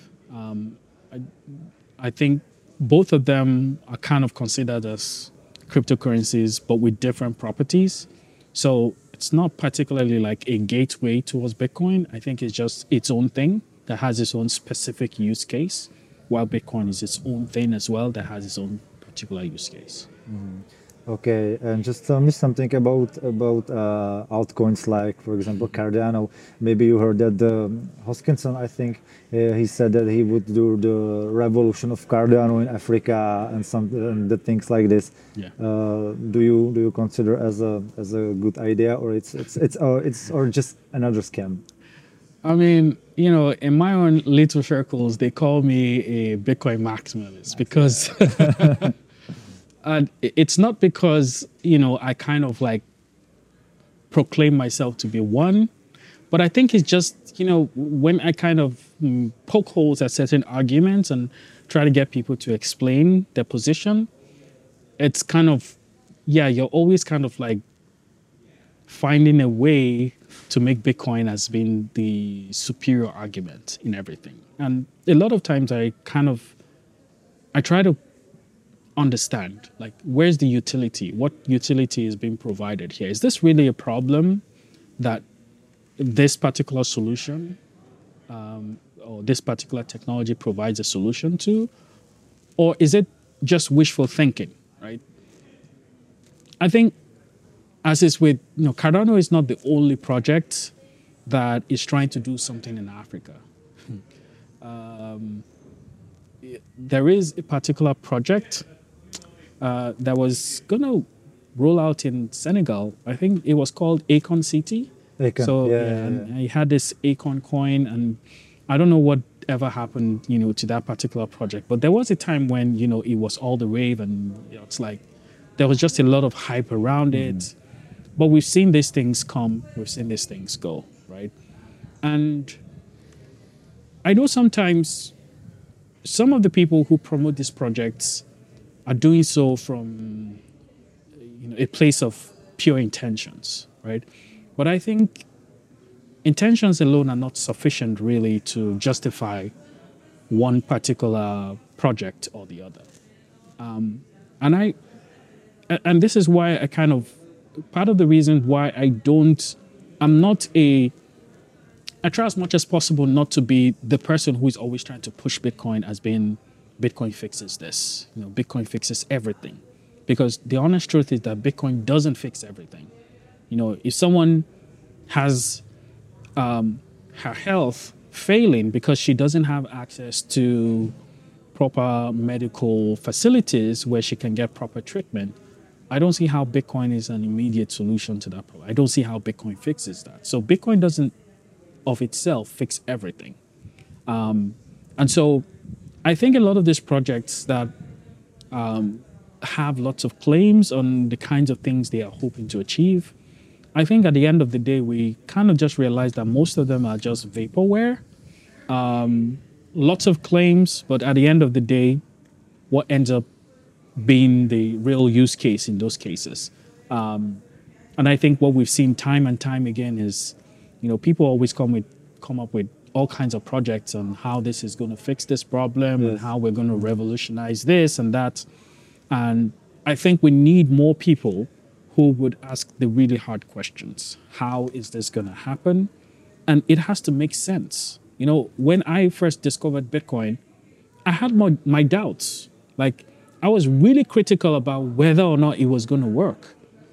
I think both of them are kind of considered as cryptocurrencies, but with different properties. So it's not particularly like a gateway towards Bitcoin. I think it's just its own thing that has its own specific use case, while Bitcoin is its own thing as well that has its own particular use case. Okay, and just tell me something about altcoins like, for example, Cardano. Maybe you heard that Hoskinson, I think, he said that he would do the revolution of Cardano in Africa and the things like this. Yeah. Do you consider as a good idea, or it's just another scam? I mean, in my own little circles, they call me a Bitcoin maximalist because. And it's not because, I kind of like proclaim myself to be one, but I think it's just, when I kind of poke holes at certain arguments and try to get people to explain their position, it's kind of, you're always kind of like finding a way to make Bitcoin as being the superior argument in everything. And a lot of times I I try to understand, like, where's the utility? What utility is being provided here? Is this really a problem that this particular solution or this particular technology provides a solution to? Or is it just wishful thinking, right? I think, as is with, Cardano is not the only project that is trying to do something in Africa. There is a particular project that was going to roll out in Senegal. I think it was called Acorn City. Acorn, So yeah. and I had this Acorn coin, and I don't know what ever happened, to that particular project. But there was a time when, it was all the rave, and it's like there was just a lot of hype around it. But we've seen these things come, we've seen these things go, right? And I know sometimes some of the people who promote these projects are doing so from a place of pure intentions, right? But I think intentions alone are not sufficient really to justify one particular project or the other. And this is why part of the reason why I try as much as possible not to be the person who is always trying to push Bitcoin as being Bitcoin fixes this, Bitcoin fixes everything. Because the honest truth is that Bitcoin doesn't fix everything. If someone has her health failing because she doesn't have access to proper medical facilities where she can get proper treatment, I don't see how Bitcoin is an immediate solution to that problem. I don't see how Bitcoin fixes that. So Bitcoin doesn't of itself fix everything. And so I think a lot of these projects that have lots of claims on the kinds of things they are hoping to achieve, I think at the end of the day, we kind of just realize that most of them are just vaporware. Lots of claims, but at the end of the day, what ends up being the real use case in those cases? And I think what we've seen time and time again is, people always come up with all kinds of projects on how this is going to fix this problem and how we're going to revolutionize this and that. And I think we need more people who would ask the really hard questions. How is this going to happen? And it has to make sense. When I first discovered Bitcoin, I had my doubts. Like, I was really critical about whether or not it was going to work.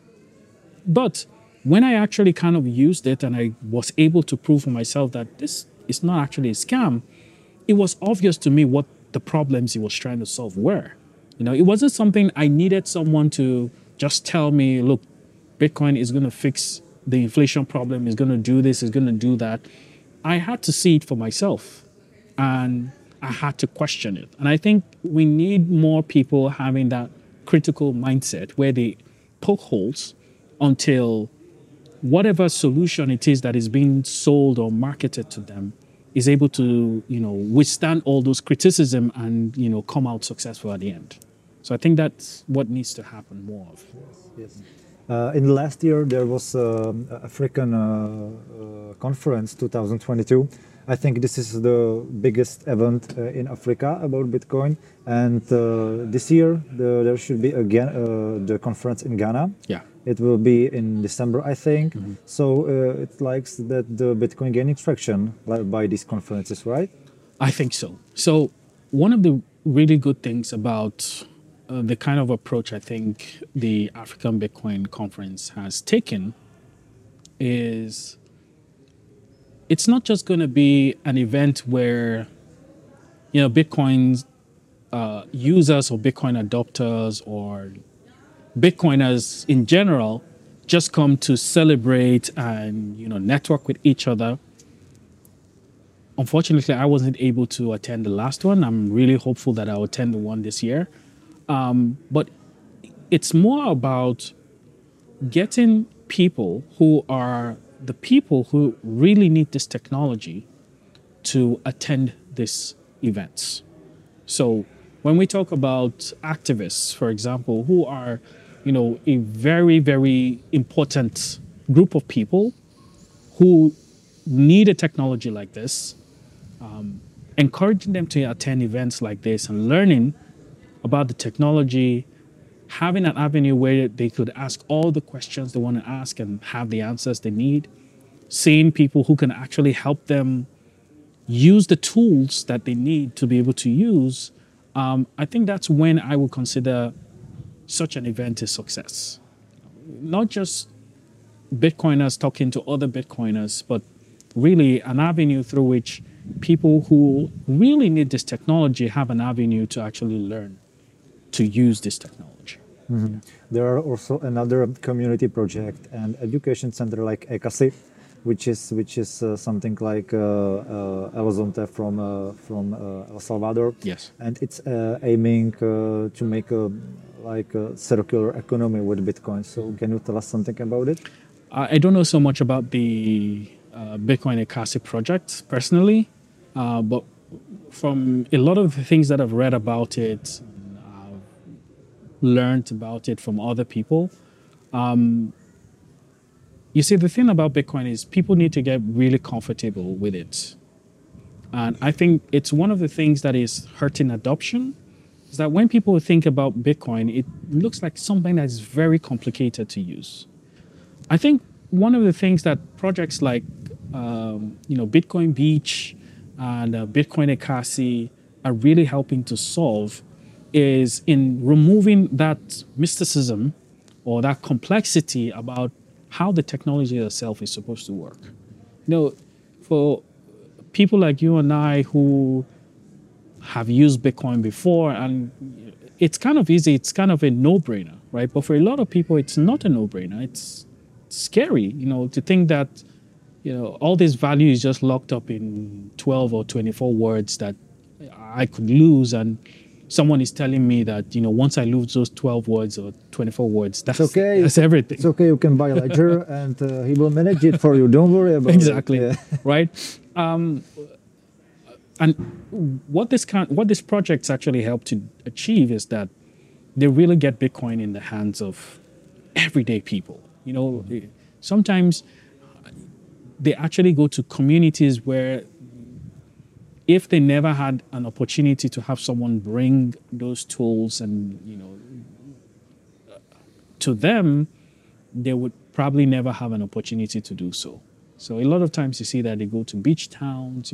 But when I actually kind of used it and I was able to prove for myself that this is not actually a scam, it was obvious to me what the problems it was trying to solve were. It wasn't something I needed someone to just tell me, look, Bitcoin is going to fix the inflation problem, is going to do this, is going to do that. I had to see it for myself, and I had to question it. And I think we need more people having that critical mindset where they poke holes until whatever solution it is that is being sold or marketed to them is able to, withstand all those criticism and, come out successful at the end. So I think that's what needs to happen more of. Yes. In the last year, there was African conference 2022. I think this is the biggest event in Africa about Bitcoin. And this year, there should be again the conference in Ghana. Yeah. It will be in December, I think. Mm-hmm. So it likes that the Bitcoin gaining traction by these conferences, right? I think so. So one of the really good things about the kind of approach I think the African Bitcoin Conference has taken is it's not just going to be an event where, Bitcoin users or Bitcoin adopters or Bitcoiners in general just come to celebrate and, network with each other. Unfortunately, I wasn't able to attend the last one. I'm really hopeful that I'll attend the one this year. But it's more about getting people who are the people who really need this technology to attend these events. So when we talk about activists, for example, who are, a very, very important group of people who need a technology like this, encouraging them to attend events like this and learning about the technology, having an avenue where they could ask all the questions they want to ask and have the answers they need, seeing people who can actually help them use the tools that they need to be able to use, I think that's when I would consider such an event a success. Not just Bitcoiners talking to other Bitcoiners, but really an avenue through which people who really need this technology have an avenue to actually learn to use this technology. Mm-hmm. There are also another community project and education center like ECASI, which is something like Elizonte from El Salvador. Yes. And it's aiming to make a circular economy with Bitcoin. So can you tell us something about it? I don't know so much about the Bitcoin ECASI project personally, but from a lot of the things that I've read about it, learned about it from other people. You see, the thing about Bitcoin is people need to get really comfortable with it. And I think it's one of the things that is hurting adoption, is that when people think about Bitcoin, it looks like something that is very complicated to use. I think one of the things that projects like Bitcoin Beach and Bitcoin ECASI are really helping to solve is in removing that mysticism or that complexity about how the technology itself is supposed to work. For people like you and I who have used Bitcoin before, and it's kind of easy, it's kind of a no-brainer, right? But for a lot of people, it's not a no-brainer. It's scary, to think that, all this value is just locked up in 12 or 24 words that I could lose, and someone is telling me that, once I lose those 12 words or 24 words, that's okay. That's everything. It's okay. You can buy a ledger and he will manage it for you. Don't worry about exactly. it. Exactly. Yeah. Right. And what this projects actually help to achieve is that they really get Bitcoin in the hands of everyday people. Sometimes they actually go to communities where, if they never had an opportunity to have someone bring those tools and, to them, they would probably never have an opportunity to do so. So a lot of times you see that they go to beach towns,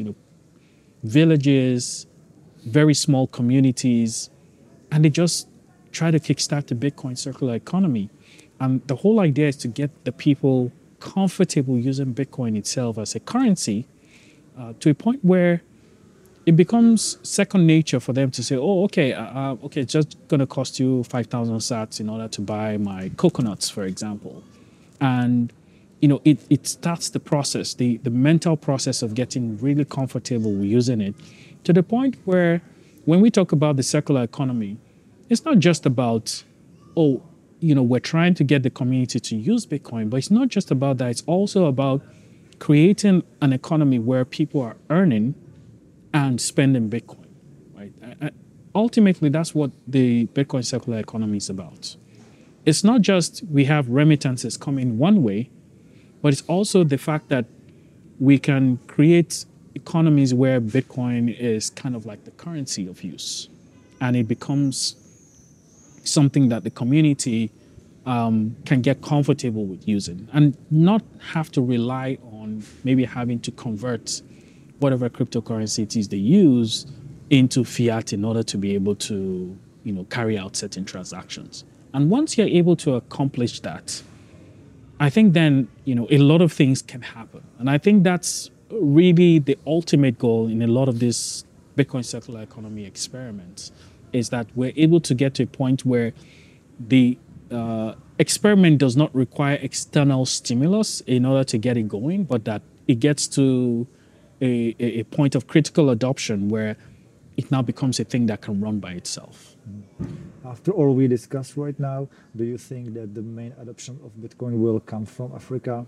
villages, very small communities, and they just try to kickstart the Bitcoin circular economy. And the whole idea is to get the people comfortable using Bitcoin itself as a currency to a point where it becomes second nature for them to say, oh, okay, it's just going to cost you 5,000 sats in order to buy my coconuts, for example. And, it starts the process, the mental process of getting really comfortable with using it, to the point where when we talk about the circular economy, it's not just about, we're trying to get the community to use Bitcoin, but it's not just about that. It's also about creating an economy where people are earning and spending Bitcoin, right? Ultimately, that's what the Bitcoin circular economy is about. It's not just we have remittances coming one way, but it's also the fact that we can create economies where Bitcoin is kind of like the currency of use, and it becomes something that the community can get comfortable with using and not have to rely on maybe having to convert whatever cryptocurrency it is they use into fiat in order to be able to, carry out certain transactions. And once you're able to accomplish that, I think then, a lot of things can happen. And I think that's really the ultimate goal in a lot of these Bitcoin circular economy experiments, is that we're able to get to a point where the experiment does not require external stimulus in order to get it going, but that it gets to a point of critical adoption where it now becomes a thing that can run by itself. After all we discussed right now, do you think that the main adoption of Bitcoin will come from Africa?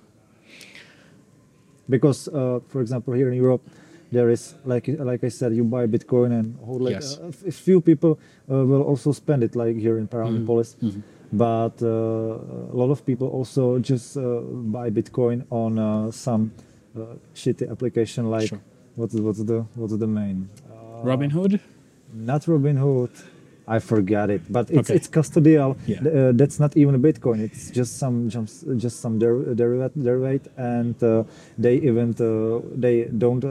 Because, for example, here in Europe, there is, like I said, you buy Bitcoin and Yes. a few people will also spend it, like here in Paranepolis. Mm-hmm. But a lot of people also just buy Bitcoin on some shitty application like, Sure. what's the main? Robinhood? Not Robinhood. I forgot it, but it's Okay. it's custodial. Yeah. That's not even a Bitcoin. It's just some derivative, and they even they don't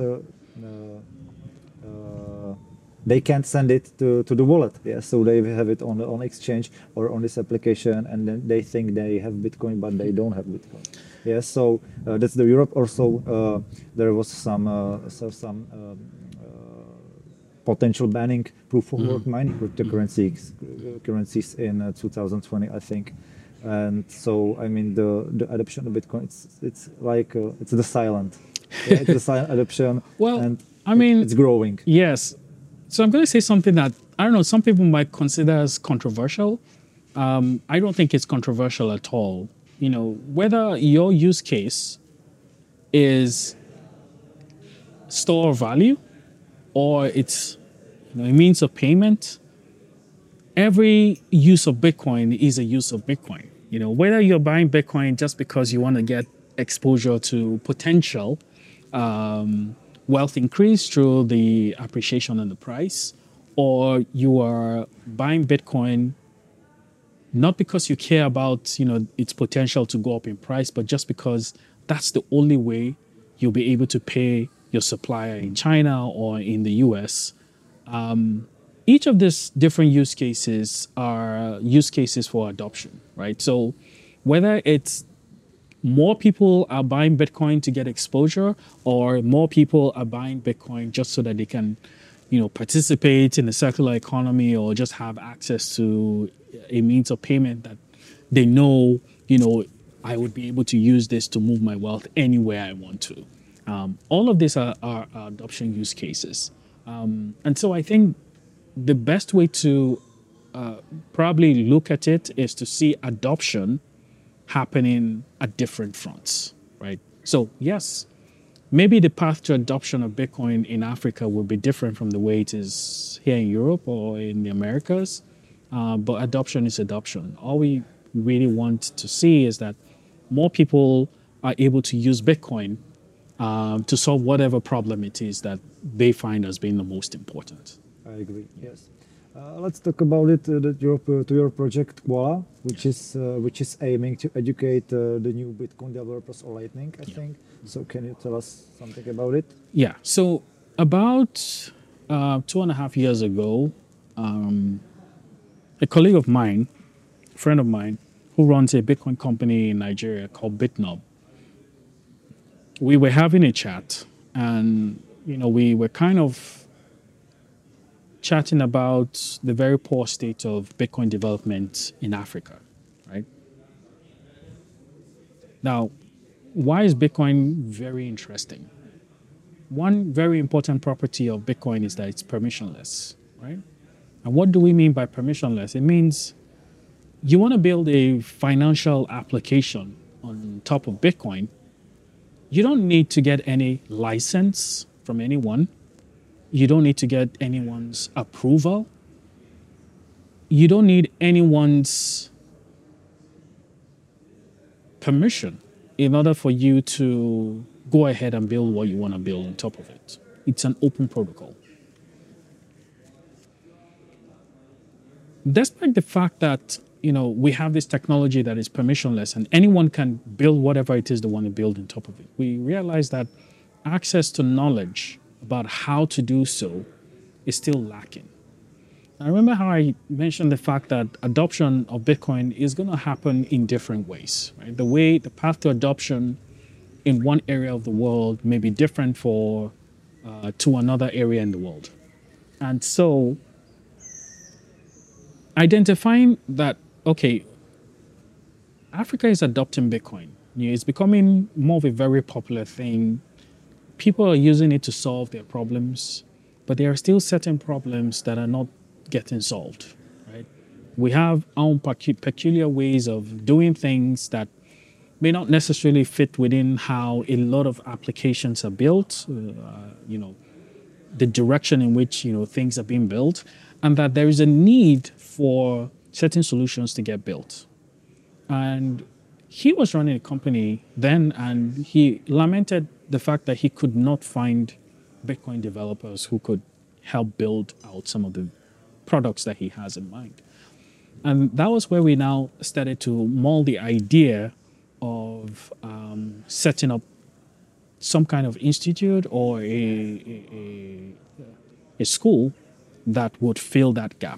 they can't send it to the wallet. Yeah, so they have it on exchange or on this application, and then they think they have Bitcoin, but they don't have Bitcoin. Yeah, so that's the Europe. Also, there was some potential banning proof of work mining cryptocurrencies in 2020, I think. And so, I mean, the adoption of Bitcoin, it's like it's the silent, yeah, it's the silent adoption, Well, and I mean, it's growing. yes. So I'm going to say something that I don't know. Some people might consider as controversial. I don't think it's controversial at all. You know, whether your use case is store of value or it's a means of payment, every use of Bitcoin is a use of Bitcoin. You know, whether you're buying Bitcoin just because you want to get exposure to potential wealth increase through the appreciation in the price, or you are buying Bitcoin not because you care about its potential to go up in price, but just because that's the only way you'll be able to pay your supplier in China or in the US. Each of these different use cases are use cases for adoption, right? So whether it's more people are buying Bitcoin to get exposure, or more people are buying Bitcoin just so that they can, participate in the circular economy or just have access to a means of payment that they know, I would be able to use this to move my wealth anywhere I want to. All of these are adoption use cases. And so I think the best way to probably look at it is to see adoption happening at different fronts, right? So yes, maybe the path to adoption of Bitcoin in Africa will be different from the way it is here in Europe or in the Americas, but adoption is adoption. All we really want to see is that more people are able to use Bitcoin to solve whatever problem it is that they find as being the most important. I agree. Yes. Let's talk about it. To your project Koala, which is aiming to educate the new Bitcoin developers on Lightning, I think. So can you tell us something about it? Yeah. So about 2.5 years ago, a colleague of mine, a friend of mine, who runs a Bitcoin company in Nigeria called BitNob, we were having a chat, and we were kind of chatting about the very poor state of Bitcoin development in Africa, right? Now, why is Bitcoin very interesting? One very important property of Bitcoin is that it's permissionless, right? And what do we mean by permissionless? It means you want to build a financial application on top of Bitcoin. You don't need to get any license from anyone. You don't need to get anyone's approval. You don't need anyone's permission in order for you to go ahead and build what you want to build on top of it. It's an open protocol. Despite the fact that we have this technology that is permissionless and anyone can build whatever it is they want to build on top of it, we realize that access to knowledge about how to do so is still lacking. I remember how I mentioned the fact that adoption of Bitcoin is going to happen in different ways, right? The path to adoption in one area of the world may be different to another area in the world. And so identifying that, okay, Africa is adopting Bitcoin. It's becoming more of a very popular thing. People are using it to solve their problems, but there are still certain problems that are not getting solved, right? We have our own peculiar ways of doing things that may not necessarily fit within how a lot of applications are built, the direction in which things are being built, and that there is a need for certain solutions to get built. And he was running a company then, and he lamented the fact that he could not find Bitcoin developers who could help build out some of the products that he has in mind. And that was where we now started to mold the idea of setting up some kind of institute or a school that would fill that gap.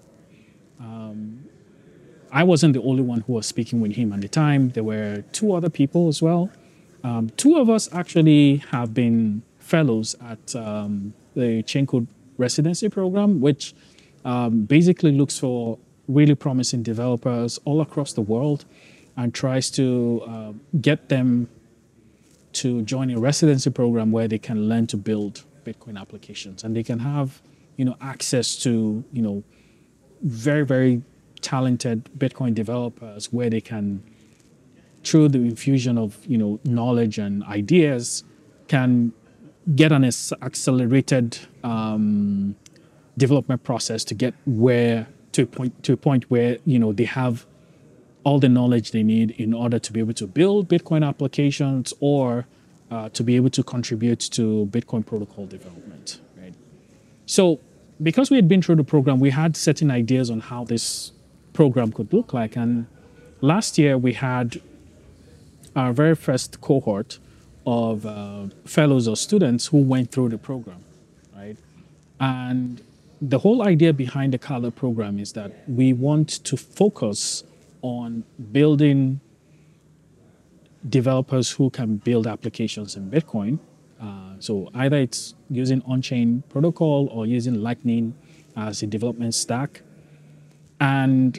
I wasn't the only one who was speaking with him at the time. There were two other people as well. Two of us actually have been fellows at the Chenkud residency program, which basically looks for really promising developers all across the world and tries to get them to join a residency program where they can learn to build Bitcoin applications, and they can have, access to, very, very talented Bitcoin developers where they can, through the infusion of, knowledge and ideas, can get an accelerated development process to get to a point where, they have all the knowledge they need in order to be able to build Bitcoin applications or to be able to contribute to Bitcoin protocol development, right? So because we had been through the program, we had certain ideas on how this program could look like. And last year we had our very first cohort of fellows or students who went through the program, right? And the whole idea behind the Kala program is that we want to focus on building developers who can build applications in Bitcoin. So either it's using on-chain protocol or using Lightning as a development stack. And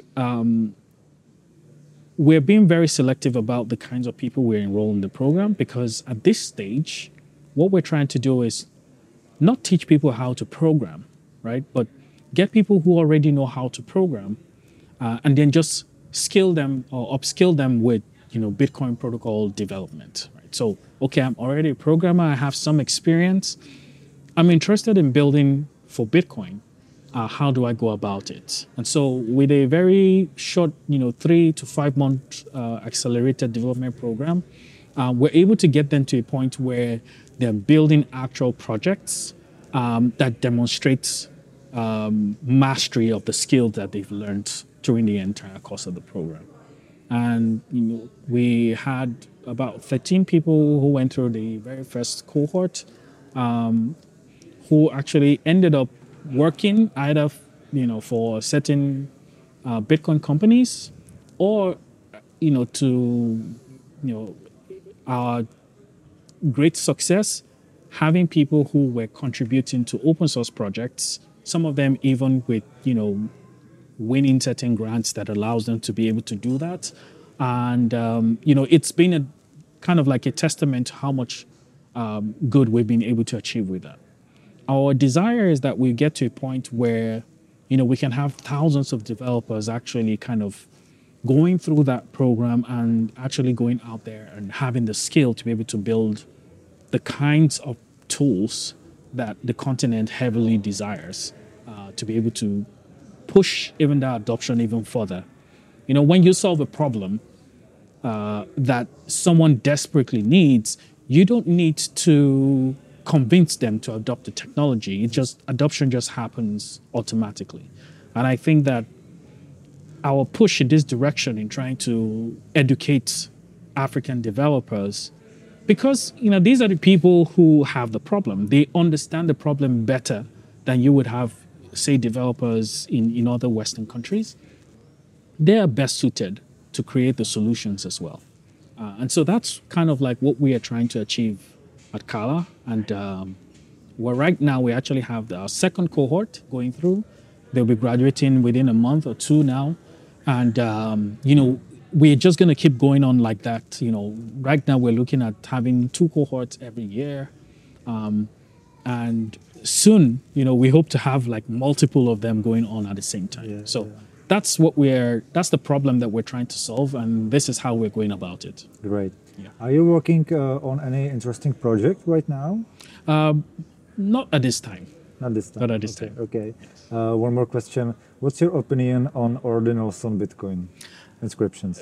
we're being very selective about the kinds of people we enroll in the program, because at this stage, what we're trying to do is not teach people how to program, right? But get people who already know how to program and then just skill them or upskill them with, Bitcoin protocol development, right? So, okay, I'm already a programmer. I have some experience. I'm interested in building for Bitcoin. How do I go about it? And so with a very short, 3 to 5 month accelerated development program, we're able to get them to a point where they're building actual projects that demonstrates mastery of the skills that they've learned during the entire course of the program. And we had about 13 people who went through the very first cohort, who actually ended up working either, for certain Bitcoin companies, or, our great success, having people who were contributing to open source projects, some of them even with, winning certain grants that allows them to be able to do that. And, it's been a kind of like a testament to how much good we've been able to achieve with that. Our desire is that we get to a point where, we can have thousands of developers actually kind of going through that program and actually going out there and having the skill to be able to build the kinds of tools that the continent heavily desires, to be able to push even that adoption even further. When you solve a problem that someone desperately needs, you don't need to convince them to adopt the technology. Adoption just happens automatically. And I think that our push in this direction in trying to educate African developers, because these are the people who have the problem. They understand the problem better than you would have, say, developers in other Western countries. They are best suited to create the solutions as well. And so that's kind of like what we are trying to achieve at Kala. And right now we actually have our second cohort going through. They'll be graduating within a month or two now. And, we're just going to keep going on like that. Right now we're looking at having 2 cohorts every year. And soon, we hope to have like multiple of them going on at the same time. That's the problem that we're trying to solve. And this is how we're going about it. Great. Yeah. Are you working on any interesting project right now? Not at this time. Not this time. Not at this time. Okay. One more question. What's your opinion on ordinals on Bitcoin inscriptions?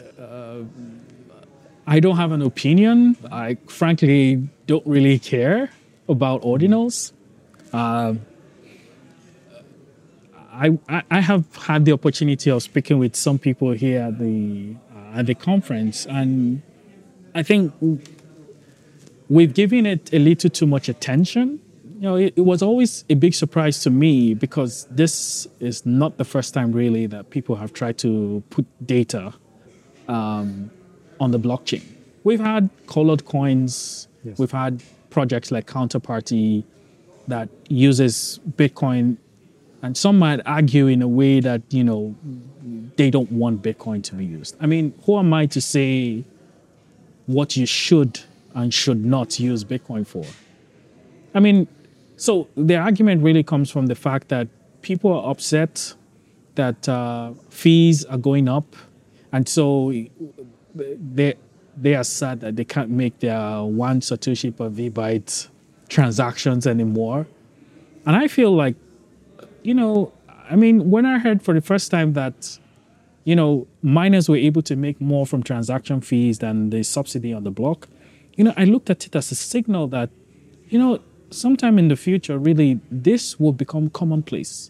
I don't have an opinion. I frankly don't really care about ordinals. I have had the opportunity of speaking with some people here at the conference, and I think we've given it a little too much attention. You know, it was always a big surprise to me because this is not the first time really that people have tried to put data on the blockchain. We've had colored coins. Yes. We've had projects like Counterparty that uses Bitcoin, and some might argue in a way that, you know, they don't want Bitcoin to be used. I mean, who am I to say what you should and should not use Bitcoin for? I mean, so the argument really comes from the fact that people are upset that fees are going up, and so they are sad that they can't make their 1 Satoshi per VByte transactions anymore. And I feel like, you know, I mean, when I heard for the first time that, you know, miners were able to make more from transaction fees than the subsidy on the block, you know, I looked at it as a signal that, you know, sometime in the future, really, this will become commonplace.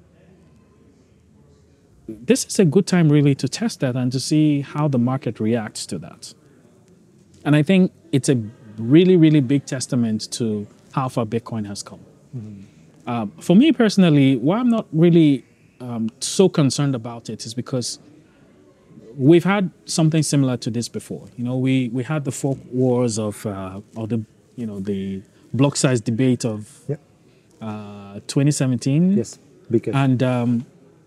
This is a good time really to test that and to see how the market reacts to that. And I think it's a really, really big testament to how far Bitcoin has come. Mm-hmm. For me personally, why I'm not really so concerned about it is because we've had something similar to this before. You know, we had the fork wars of, or the, you know, the block size debate of 2017. Yes, because. And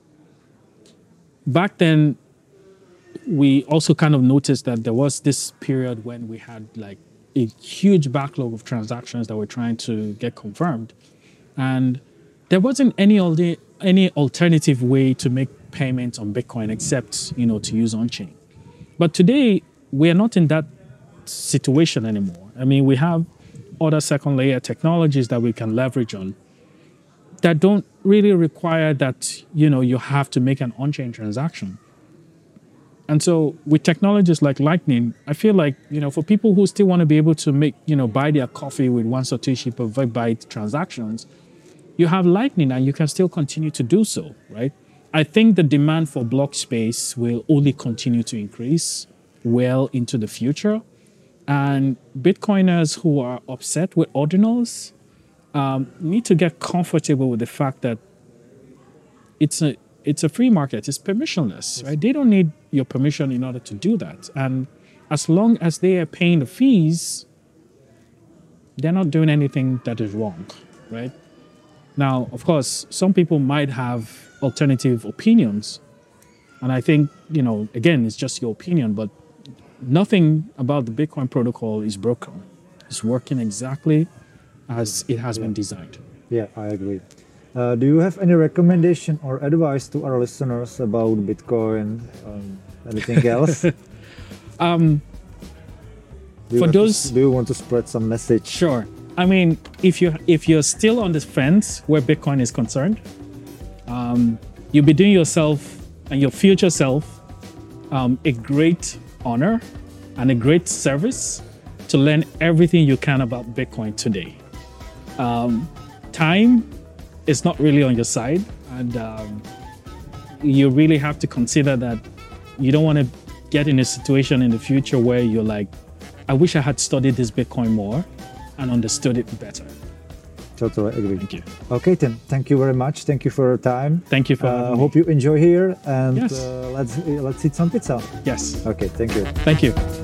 back then, we also kind of noticed that there was this period when we had like a huge backlog of transactions that were trying to get confirmed. And there wasn't any alternative way to make payments on Bitcoin except, you know, to use on-chain. But today, we are not in that situation anymore. I mean, we have other second layer technologies that we can leverage on that don't really require that, you know, you have to make an on-chain transaction. And so with technologies like Lightning, I feel like, you know, for people who still want to be able to make, you know, buy their coffee with 1 Satoshi per VByte transactions, you have Lightning and you can still continue to do so, right? I think the demand for block space will only continue to increase well into the future. And Bitcoiners who are upset with ordinals need to get comfortable with the fact that it's a free market. It's permissionless, right? They don't need your permission in order to do that. And as long as they are paying the fees, they're not doing anything that is wrong, right? Now, of course, some people might have alternative opinions. And I think, you know, again, it's just your opinion, but nothing about the Bitcoin protocol is broken. It's working exactly as it has been designed. Yeah, I agree. Do you have any recommendation or advice to our listeners about Bitcoin? Anything else? Do you want to spread some message? Sure. I mean, if you're still on the fence where Bitcoin is concerned, you'll be doing yourself and your future self a great honor and a great service to learn everything you can about Bitcoin today. Time is not really on your side, and you really have to consider that you don't want to get in a situation in the future where you're like, I wish I had studied this Bitcoin more and understood it better. Totally agree. Thank you. Okay, Tim, thank you very much. Thank you for your time. Thank you for having me. Hope you enjoy here, and Yes. let's eat some pizza. Yes. Okay, thank you. Thank you.